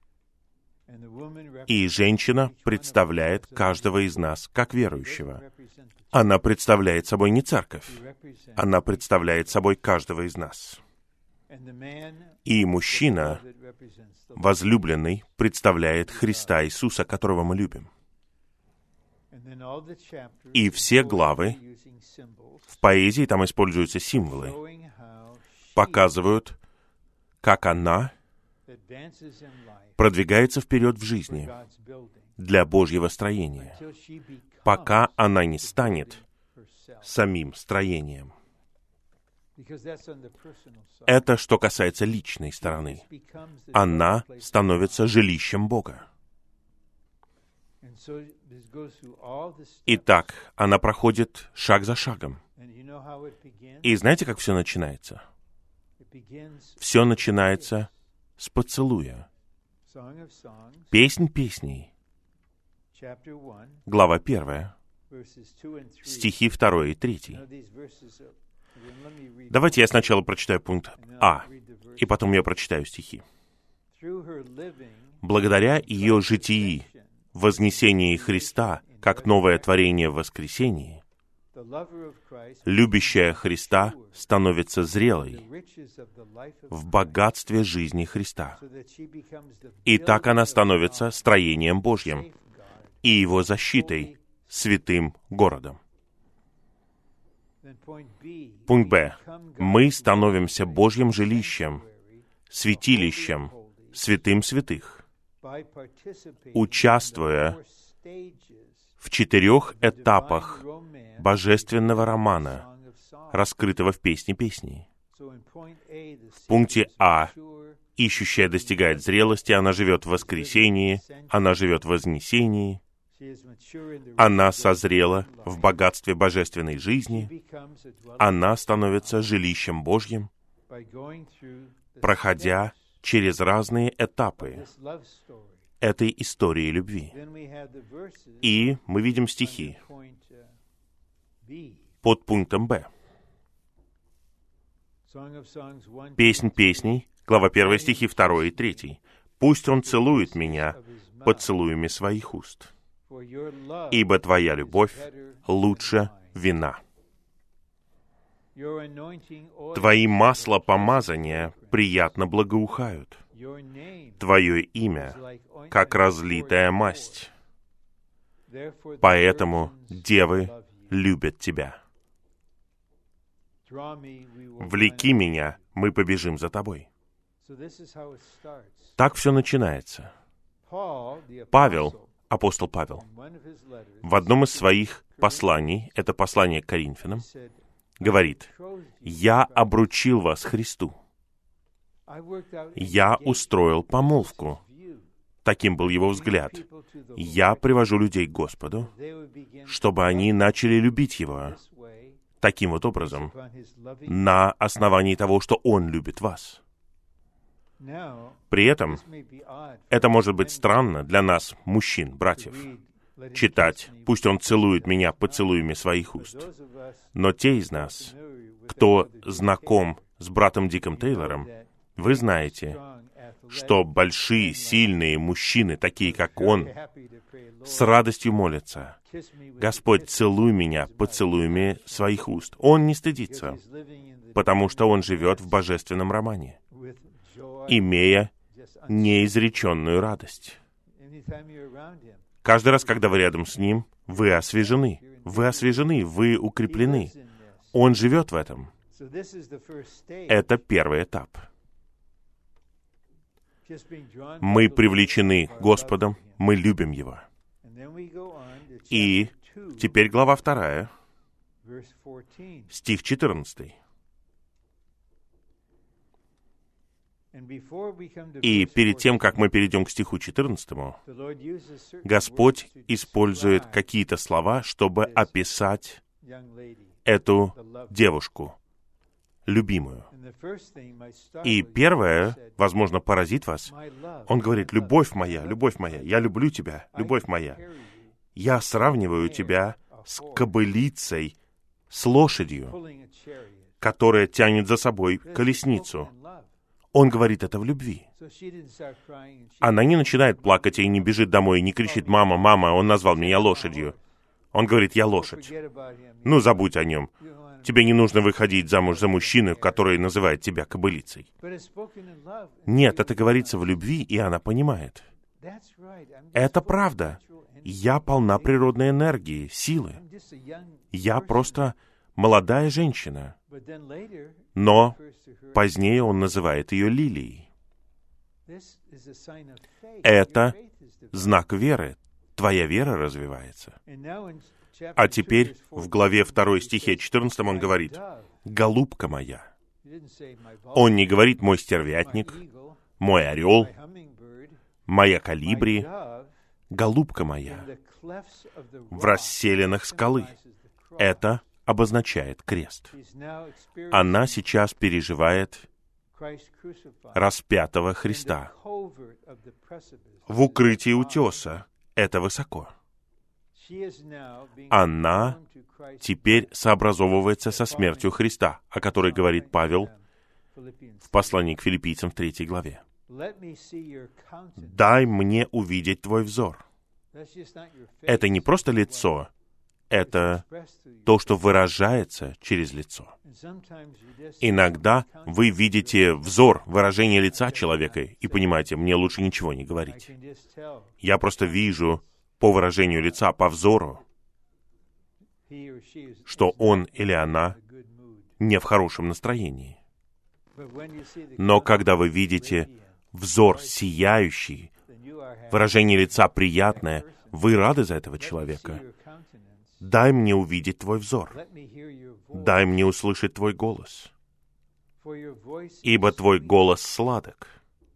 И женщина представляет каждого из нас как верующего. Она представляет собой не церковь. Она представляет собой каждого из нас. И мужчина, возлюбленный, представляет Христа Иисуса, которого мы любим. И все главы в поэзии, там используются символы, показывают, как она продвигается вперед в жизни для Божьего строения, пока она не станет самим строением. Это что касается личной стороны. Она становится жилищем Бога. Итак, она проходит шаг за шагом. И знаете, как все начинается? Все начинается с поцелуя. Песнь песней. Глава первая. Стихи второй и третий. Давайте я сначала прочитаю пункт А, и потом я прочитаю стихи. Благодаря ее житии, вознесении Христа, как новое творение в воскресении, Любящая Христа становится зрелой в богатстве жизни Христа. И так она становится строением Божьим и Его защитой, святым городом. Пункт Б. Мы становимся Божьим жилищем, святилищем, святым святых, участвуя в четырех этапах божественного романа, раскрытого в «Песне песней». В пункте А ищущая достигает зрелости, она живет в воскресении, она живет в вознесении, она созрела в богатстве божественной жизни, она становится жилищем Божьим, проходя через разные этапы этой истории любви. И мы видим стихи под пунктом Б. Песнь песней, глава первая, стихи второй и третий. «Пусть он целует меня поцелуями своих уст, ибо твоя любовь лучше вина. Твои масла помазания приятно благоухают. Твое имя, как разлитая масть. Поэтому девы любят тебя. Влеки меня, мы побежим за тобой». Так все начинается. Павел, апостол Павел, в одном из своих посланий, это послание к Коринфянам, говорит: «Я обручил вас Христу. Я устроил помолвку». Таким был его взгляд. «Я привожу людей к Господу, чтобы они начали любить Его таким вот образом, на основании того, что Он любит вас». При этом это может быть странно для нас, мужчин, братьев, читать: «Пусть он целует меня поцелуями своих уст». Но те из нас, кто знаком с братом Диком Тейлором, вы знаете, что большие, сильные мужчины, такие как он, с радостью молятся: «Господь, целуй меня поцелуями своих уст». Он не стыдится, потому что он живет в божественном романе, имея неизреченную радость. Каждый раз, когда вы рядом с Ним, вы освежены. Вы освежены, вы укреплены. Он живет в этом. Это первый этап. Мы привлечены Господом, мы любим Его. И теперь глава вторая, стих четырнадцатый. И перед тем, как мы перейдем к стиху четырнадцатому, Господь использует какие-то слова, чтобы описать эту девушку, любимую. И первое, возможно, поразит вас. Он говорит: «Любовь моя, любовь моя, я люблю тебя, любовь моя. Я сравниваю тебя с кобылицей, с лошадью, которая тянет за собой колесницу». Он говорит это в любви. Она не начинает плакать и не бежит домой, и не кричит: «Мама, мама, он назвал меня лошадью». Он говорит: «Я лошадь. Ну, забудь о нем. Тебе не нужно выходить замуж за мужчину, который называет тебя кобылицей». Нет, это говорится в любви, и она понимает. Это правда. Я полна природной энергии, силы. Я просто молодая женщина. Но позднее он называет ее лилией. Это знак веры. Твоя вера развивается. А теперь в главе второй, стихе четырнадцатом он говорит: «Голубка моя». Он не говорит: «Мой стервятник», «Мой орел», «Моя колибри». «Голубка моя» в расселенных скалы. Это обозначает крест. Она сейчас переживает распятого Христа в укрытии утеса. Это высоко. Она теперь сообразовывается со смертью Христа, о которой говорит Павел в послании к Филиппийцам в третьей главе. «Дай мне увидеть твой взор». Это не просто лицо, это то, что выражается через лицо. Иногда вы видите взор, выражение лица человека и понимаете, мне лучше ничего не говорить. Я просто вижу по выражению лица, по взору, что он или она не в хорошем настроении. Но когда вы видите взор сияющий, выражение лица приятное, вы рады за этого человека. Дай мне увидеть твой взор. Дай мне услышать твой голос. Ибо твой голос сладок,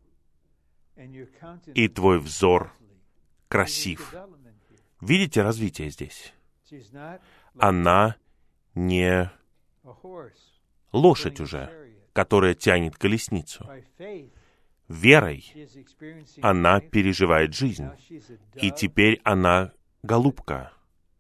и твой взор красив. Видите развитие здесь? Она не лошадь уже, которая тянет колесницу. Верой она переживает жизнь, и теперь она голубка.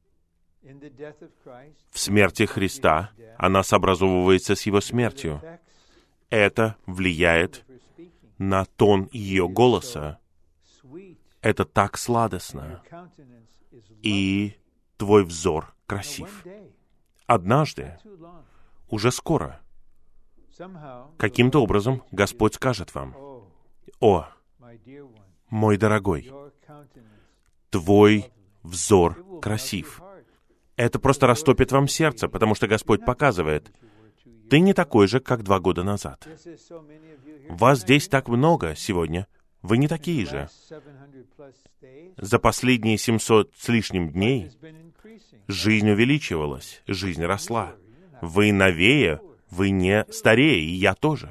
В смерти Христа она сообразовывается с Его смертью. Это влияет на тон ее голоса. Это так сладостно. И твой взор красив. Однажды, уже скоро, каким-то образом Господь скажет вам: «О, мой дорогой, твой взор красив». Это просто растопит вам сердце, потому что Господь показывает: ты не такой же, как два года назад. Вас здесь так много сегодня. Вы не такие же. За последние семьсот с лишним дней жизнь увеличивалась, жизнь росла. Вы новее, вы не старее, и я тоже.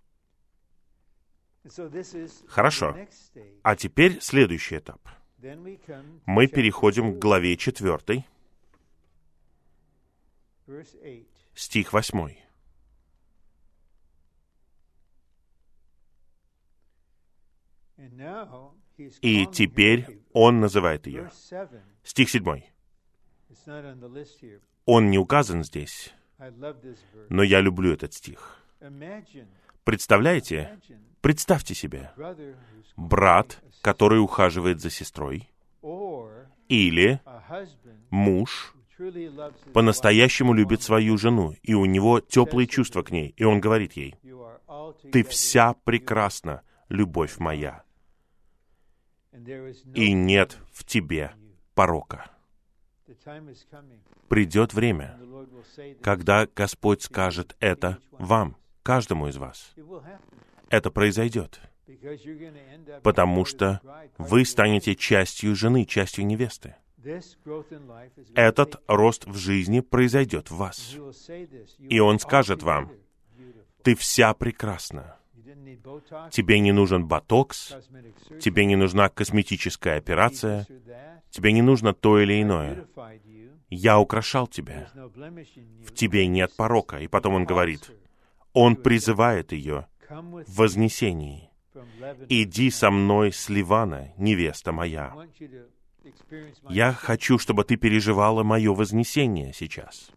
Хорошо. А теперь следующий этап. Мы переходим к главе четвертой, стих восьмой. И теперь он называет ее. Стих седьмой. Он не указан здесь, но я люблю этот стих. Представляете? Представьте себе, брат, который ухаживает за сестрой, или муж по-настоящему любит свою жену, и у него теплые чувства к ней, и он говорит ей: «Ты вся прекрасна, любовь моя, и нет в тебе порока». Придет время, когда Господь скажет это вам, каждому из вас. Это произойдет, потому что вы станете частью жены, частью невесты. Этот рост в жизни произойдет в вас. И Он скажет вам: «Ты вся прекрасна. Тебе не нужен ботокс, тебе не нужна косметическая операция, тебе не нужно то или иное. Я украшал тебя. В тебе нет порока». И потом Он говорит, Он призывает ее в вознесении: «Иди со мной с Ливана, невеста моя». Я хочу, чтобы ты переживала мое вознесение сейчас.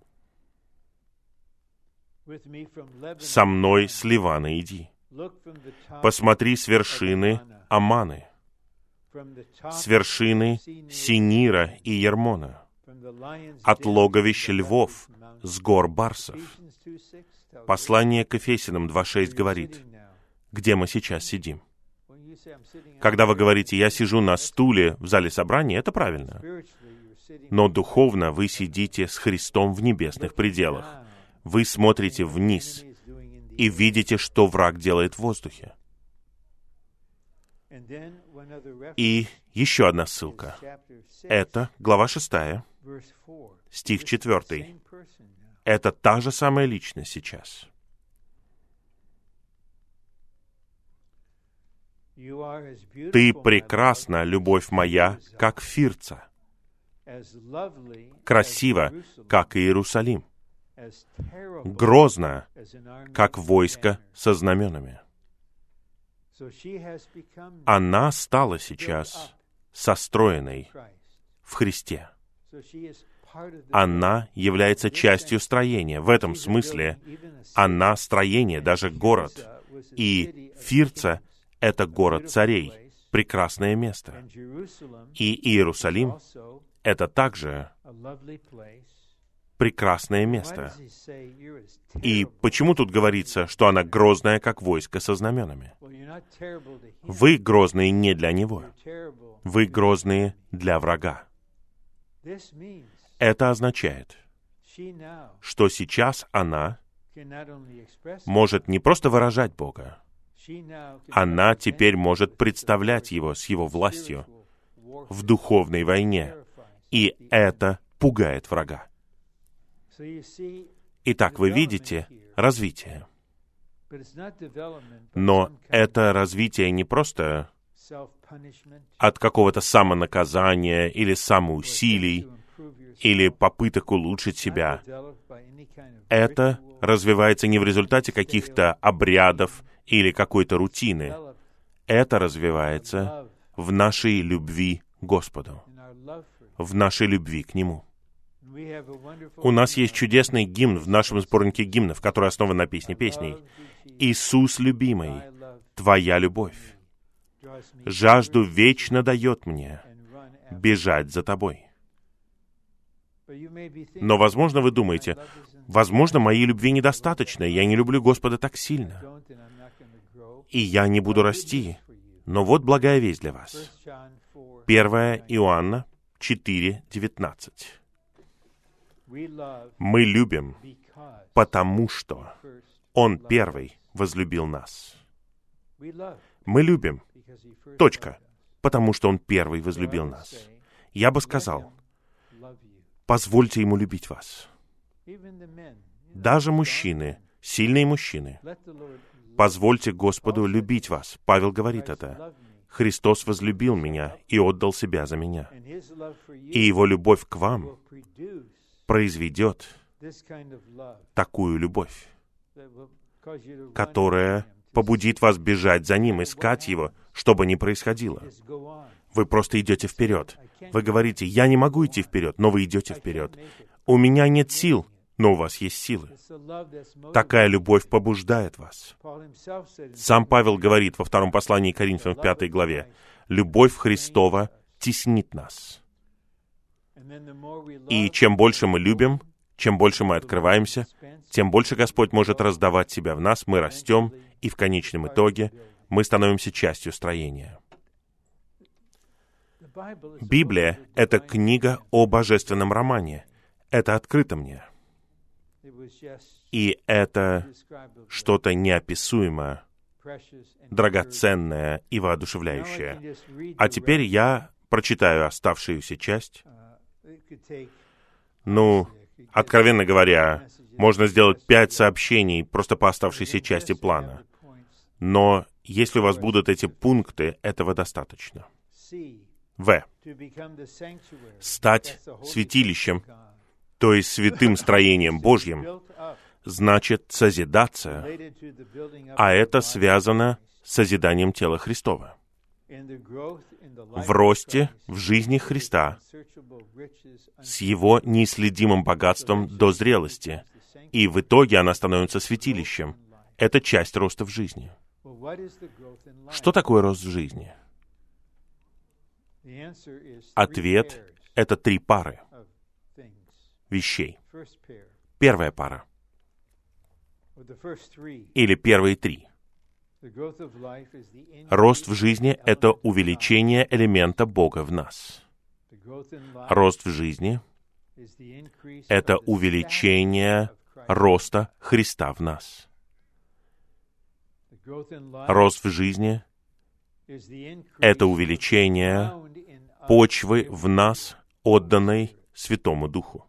Со мной с Ливана иди. Посмотри с вершины Аманы, с вершины Синира и Ермона, от логовища львов, с гор Барсов. Послание к Ефесянам два шесть говорит, где мы сейчас сидим. Когда вы говорите: «Я сижу на стуле в зале собрания», это правильно. Но духовно вы сидите с Христом в небесных пределах. Вы смотрите вниз и видите, что враг делает в воздухе. И еще одна ссылка. Это глава шестая, стих четвертый. Это та же самая личность сейчас. «Ты прекрасна, любовь моя, как Фирца, красиво, как Иерусалим, грозно, как войско со знаменами». Она стала сейчас состроенной в Христе. Она является частью строения. В этом смысле она строение, даже город. И Фирца — это город царей, прекрасное место. И Иерусалим это также прекрасное место. И почему тут говорится, что она грозная, как войско со знаменами? Вы грозные не для него. Вы грозные для врага. Это означает, что сейчас она может не просто выражать Бога, она теперь может представлять Его с Его властью в духовной войне. И это пугает врага. Итак, вы видите развитие. Но это развитие не просто от какого-то самонаказания или самоусилий, или попыток улучшить себя. Это развивается не в результате каких-то обрядов или какой-то рутины. Это развивается в нашей любви к Господу, в нашей любви к Нему. У нас есть чудесный гимн в нашем сборнике гимнов, который основан на песне песней. «Иисус, любимый, Твоя любовь жажду вечно дает мне бежать за Тобой». Но, возможно, вы думаете, возможно, моей любви недостаточно, я не люблю Господа так сильно, и я не буду расти. Но вот благая весть для вас. первое Иоанна четыре девятнадцать. Мы любим, потому что Он первый возлюбил нас. Мы любим, точка, потому что Он первый возлюбил нас. Я бы сказал, позвольте Ему любить вас. Даже мужчины, сильные мужчины, позвольте Господу любить вас. Павел говорит это. Христос возлюбил меня и отдал себя за меня. И Его любовь к вам произведет такую любовь, которая побудит вас бежать за Ним, искать Его, что бы ни происходило. Вы просто идете вперед. Вы говорите, я не могу идти вперед, но вы идете вперед. У меня нет сил, но у вас есть силы. Такая любовь побуждает вас. Сам Павел говорит во втором послании к Коринфянам в пятой главе, «Любовь Христова теснит нас». И чем больше мы любим, чем больше мы открываемся, тем больше Господь может раздавать себя в нас, мы растем, и в конечном итоге мы становимся частью строения. Библия — это книга о божественном романе. Это открыто мне. И это что-то неописуемое, драгоценное и воодушевляющее. А теперь я прочитаю оставшуюся часть. Ну, откровенно говоря, можно сделать пять сообщений просто по оставшейся части плана. Но если у вас будут эти пункты, этого достаточно. В. Стать святилищем, то есть святым строением Божьим, значит созидаться, а это связано с созиданием тела Христова. В росте в жизни Христа, с Его неисследимым богатством до зрелости, и в итоге она становится святилищем. Это часть роста в жизни. Что такое рост в жизни? Ответ — это три пары вещей. Первая пара, или первые три. Рост в жизни — это увеличение элемента Бога в нас. Рост в жизни — это увеличение роста Христа в нас. Рост в жизни — это увеличение почвы в нас, отданной Святому Духу.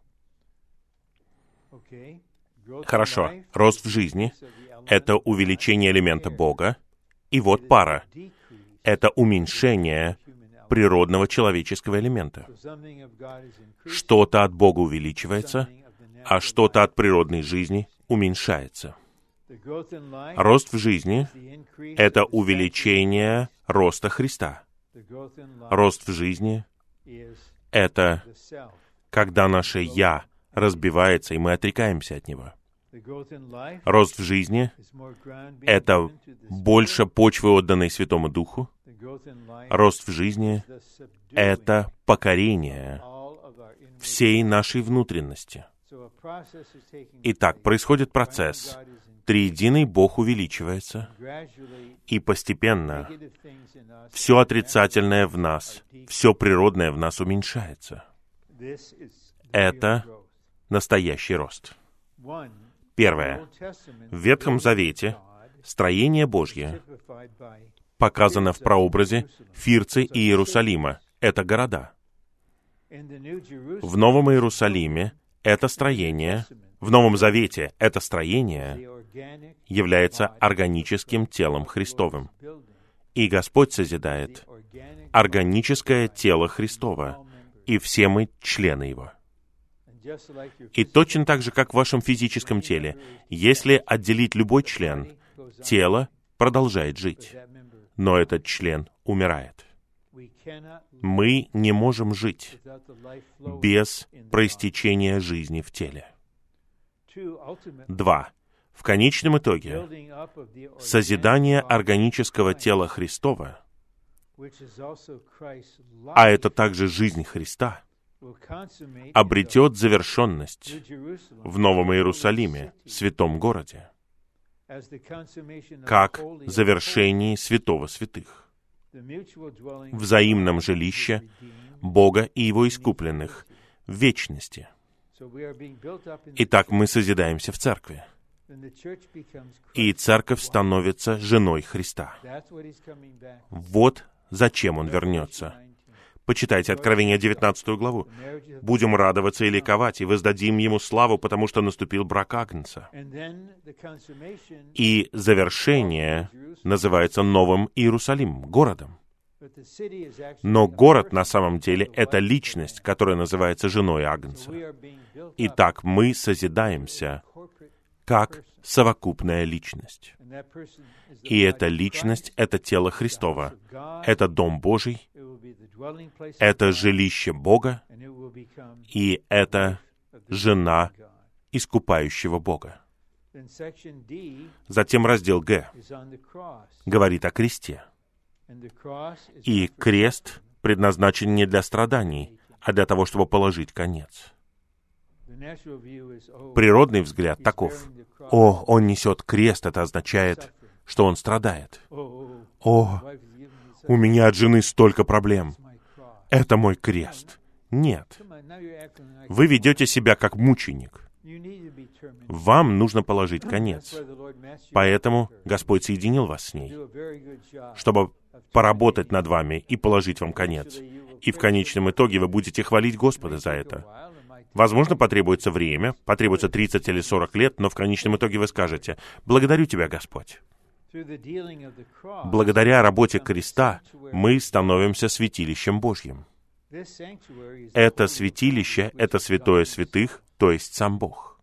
Хорошо. Рост в жизни — это увеличение элемента Бога. И вот пара. Это уменьшение природного человеческого элемента. Что-то от Бога увеличивается, а что-то от природной жизни уменьшается. Рост в жизни — это увеличение роста Христа. Рост в жизни — это когда наше «я» разбивается, и мы отрекаемся от него. Рост в жизни — это больше почвы, отданной Святому Духу. Рост в жизни — это покорение всей нашей внутренности. Итак, происходит процесс. Триединый Бог увеличивается, и постепенно все отрицательное в нас, все природное в нас уменьшается. Это настоящий рост. Первое. В Ветхом Завете строение Божье показано в прообразе Фирцы и Иерусалима. Это города. В Новом Иерусалиме это строение, в Новом Завете это строение является органическим телом Христовым. И Господь созидает органическое тело Христова, и все мы члены Его. И точно так же, как в вашем физическом теле, если отделить любой член, тело продолжает жить, но этот член умирает. Мы не можем жить без проистечения жизни в теле. Два. В конечном итоге, созидание органического тела Христова, а это также жизнь Христа, обретет завершенность в Новом Иерусалиме, святом городе, как завершение святого святых, взаимном жилище Бога и Его искупленных в вечности. Итак, мы созидаемся в церкви, и церковь становится женой Христа. Вот зачем Он вернется. Почитайте Откровение девятнадцатую главу. «Будем радоваться и ликовать, и воздадим Ему славу, потому что наступил брак Агнца». И завершение называется Новым Иерусалимом, городом. Но город на самом деле — это личность, которая называется женой Агнца. Итак, мы созидаемся как совокупная личность. И эта личность — это тело Христово, это Дом Божий, это жилище Бога, и это жена искупающего Бога. Затем раздел Г говорит о кресте. И крест предназначен не для страданий, а для того, чтобы положить конец. Природный взгляд таков: «О, он несет крест», это означает, что он страдает. «О, у меня от жены столько проблем. Это мой крест». Нет. Вы ведете себя как мученик. Вам нужно положить конец. Поэтому Господь соединил вас с ней, чтобы поработать над вами и положить вам конец. И в конечном итоге вы будете хвалить Господа за это. Возможно, потребуется время, потребуется тридцать или сорок лет, но в конечном итоге вы скажете: «Благодарю Тебя, Господь». Благодаря работе креста мы становимся святилищем Божьим. Это святилище — это святое святых, то есть сам Бог.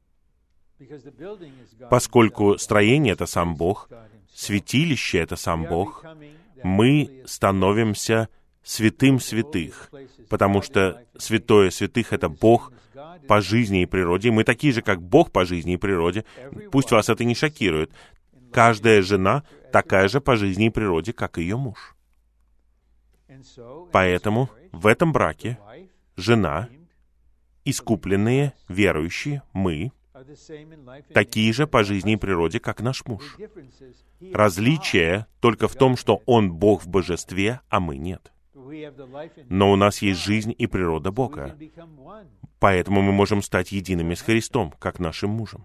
Поскольку строение — это сам Бог, святилище — это сам Бог, мы становимся святым святых, потому что святое святых — это Бог по жизни и природе. Мы такие же, как Бог по жизни и природе. Пусть вас это не шокирует. Каждая жена такая же по жизни и природе, как ее муж. Поэтому в этом браке жена, искупленные, верующие, мы, такие же по жизни и природе, как наш муж. Различие только в том, что он Бог в божестве, а мы нет. Но у нас есть жизнь и природа Бога. Поэтому мы можем стать едиными с Христом, как нашим мужем.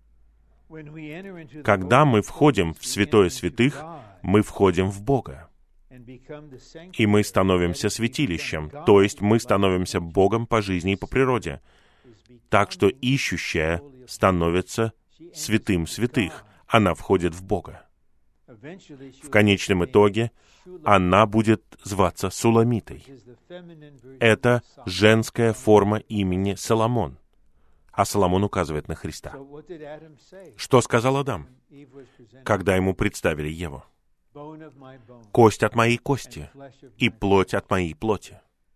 Когда мы входим в святое святых, мы входим в Бога. И мы становимся святилищем, то есть мы становимся Богом по жизни и по природе. Так что ищущая становится святым святых. Она входит в Бога. В конечном итоге она будет зваться Суламитой. Это женская форма имени Соломон. А Соломон указывает на Христа. Что сказал Адам, когда ему представили Еву? «Кость от моей кости и плоть от моей плоти».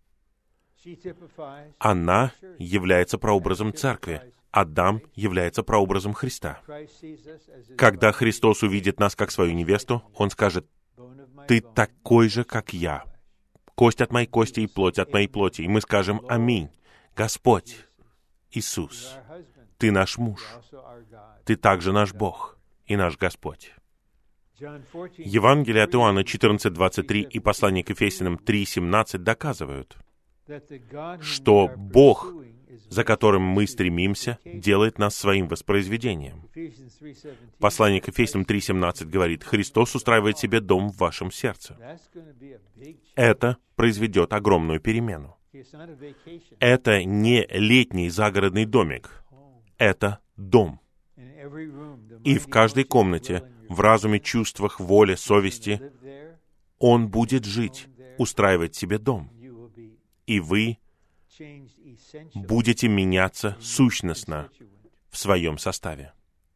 Она является прообразом церкви. Адам является прообразом Христа. Когда Христос увидит нас как свою невесту, Он скажет: «Ты такой же, как я. Кость от моей кости и плоть от моей плоти». И мы скажем: «Аминь». Господь Иисус, Ты наш муж, Ты также наш Бог и наш Господь. Евангелие от Иоанна четырнадцать двадцать три и послание к Ефесянам три семнадцать доказывают, что Бог, за которым мы стремимся, делает нас своим воспроизведением. Послание к Ефесянам три семнадцать говорит: «Христос устраивает себе дом в вашем сердце». Это произведет огромную перемену. Это не летний загородный домик. Это дом. И в каждой комнате, в разуме, чувствах, воле, совести, Он будет жить, устраивать себе дом. И вы будете меняться сущностно в своем составе.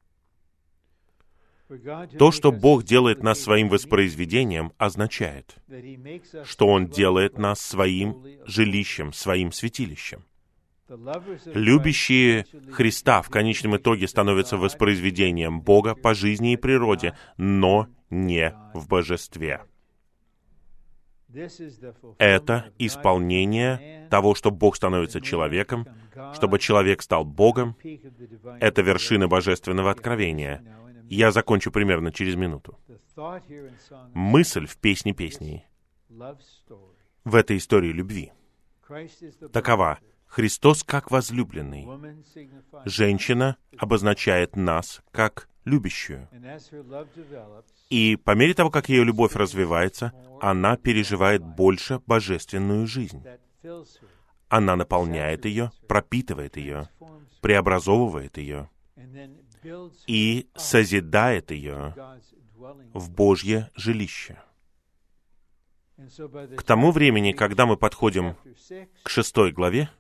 То, что Бог делает нас своим воспроизведением, означает, что Он делает нас своим жилищем, своим святилищем. Любящие Христа в конечном итоге становятся воспроизведением Бога по жизни и природе, но не в божестве. Это исполнение того, что Бог становится человеком, чтобы человек стал Богом. Это вершина божественного откровения. Я закончу примерно через минуту. Мысль в «Песне песней» в этой истории любви такова: Христос как возлюбленный. Женщина обозначает нас как любящую. И по мере того, как ее любовь развивается, она переживает больше божественную жизнь. Она наполняет ее, пропитывает ее, преобразовывает ее и созидает ее в Божье жилище. К тому времени, когда мы подходим к шестой главе,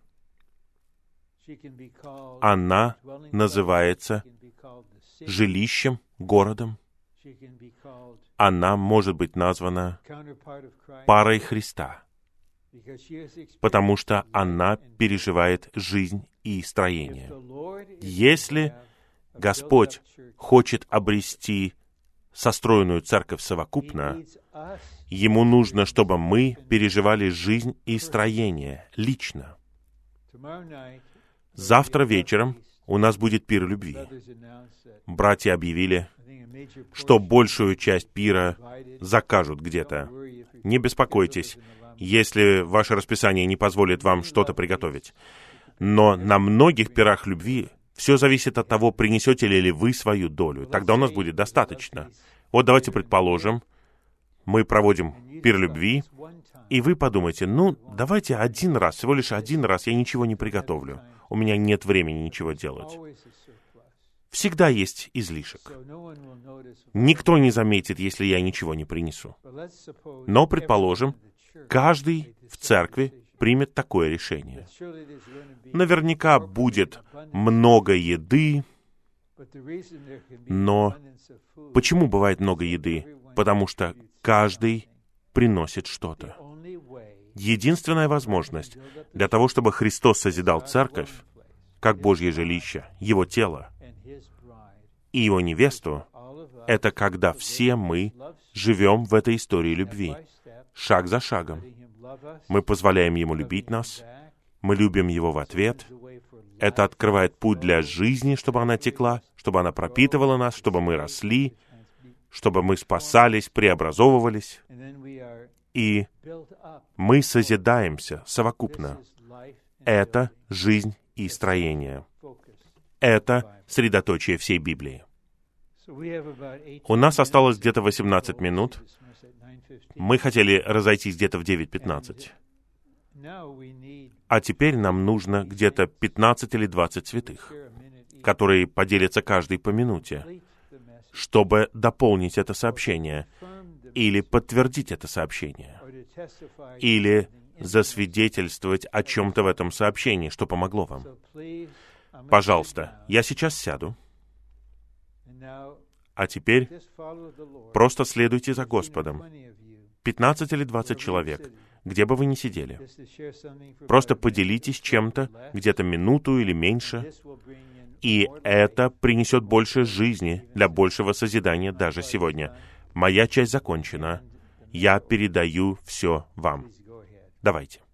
она называется жилищем, городом. Она может быть названа парой Христа, потому что она переживает жизнь и строение. Если Господь хочет обрести состроенную церковь совокупно, Ему нужно, чтобы мы переживали жизнь и строение лично. Завтра вечером у нас будет пир любви. Братья объявили, что большую часть пира закажут где-то. Не беспокойтесь, если ваше расписание не позволит вам что-то приготовить. Но на многих пирах любви все зависит от того, принесете ли вы свою долю. Тогда у нас будет достаточно. Вот давайте предположим, мы проводим пир любви, и вы подумаете: ну, давайте один раз, всего лишь один раз я ничего не приготовлю. У меня нет времени ничего делать. Всегда есть излишек. Никто не заметит, если я ничего не принесу. Но, предположим, каждый в церкви примет такое решение. Наверняка будет много еды, но почему бывает много еды? Потому что каждый приносит что-то. Единственная возможность для того, чтобы Христос созидал церковь, как Божье жилище, Его тело и Его невесту, это когда все мы живем в этой истории любви, шаг за шагом. Мы позволяем Ему любить нас, мы любим Его в ответ. Это открывает путь для жизни, чтобы она текла, чтобы она пропитывала нас, чтобы мы росли, чтобы мы спасались, преобразовывались. И мы созидаемся совокупно. Это жизнь и строение. Это средоточие всей Библии. У нас осталось где-то восемнадцать минут. Мы хотели разойтись где-то в девять пятнадцать. А теперь нам нужно где-то пятнадцать или двадцать святых, которые поделятся каждый по минуте, чтобы дополнить это сообщение, или подтвердить это сообщение, или засвидетельствовать о чем-то в этом сообщении, что помогло вам. Пожалуйста, я сейчас сяду, а теперь просто следуйте за Господом. пятнадцать или двадцать человек, где бы вы ни сидели. Просто поделитесь чем-то, где-то минуту или меньше, и это принесет больше жизни для большего созидания даже сегодня. Моя часть закончена. Я передаю все вам. Давайте.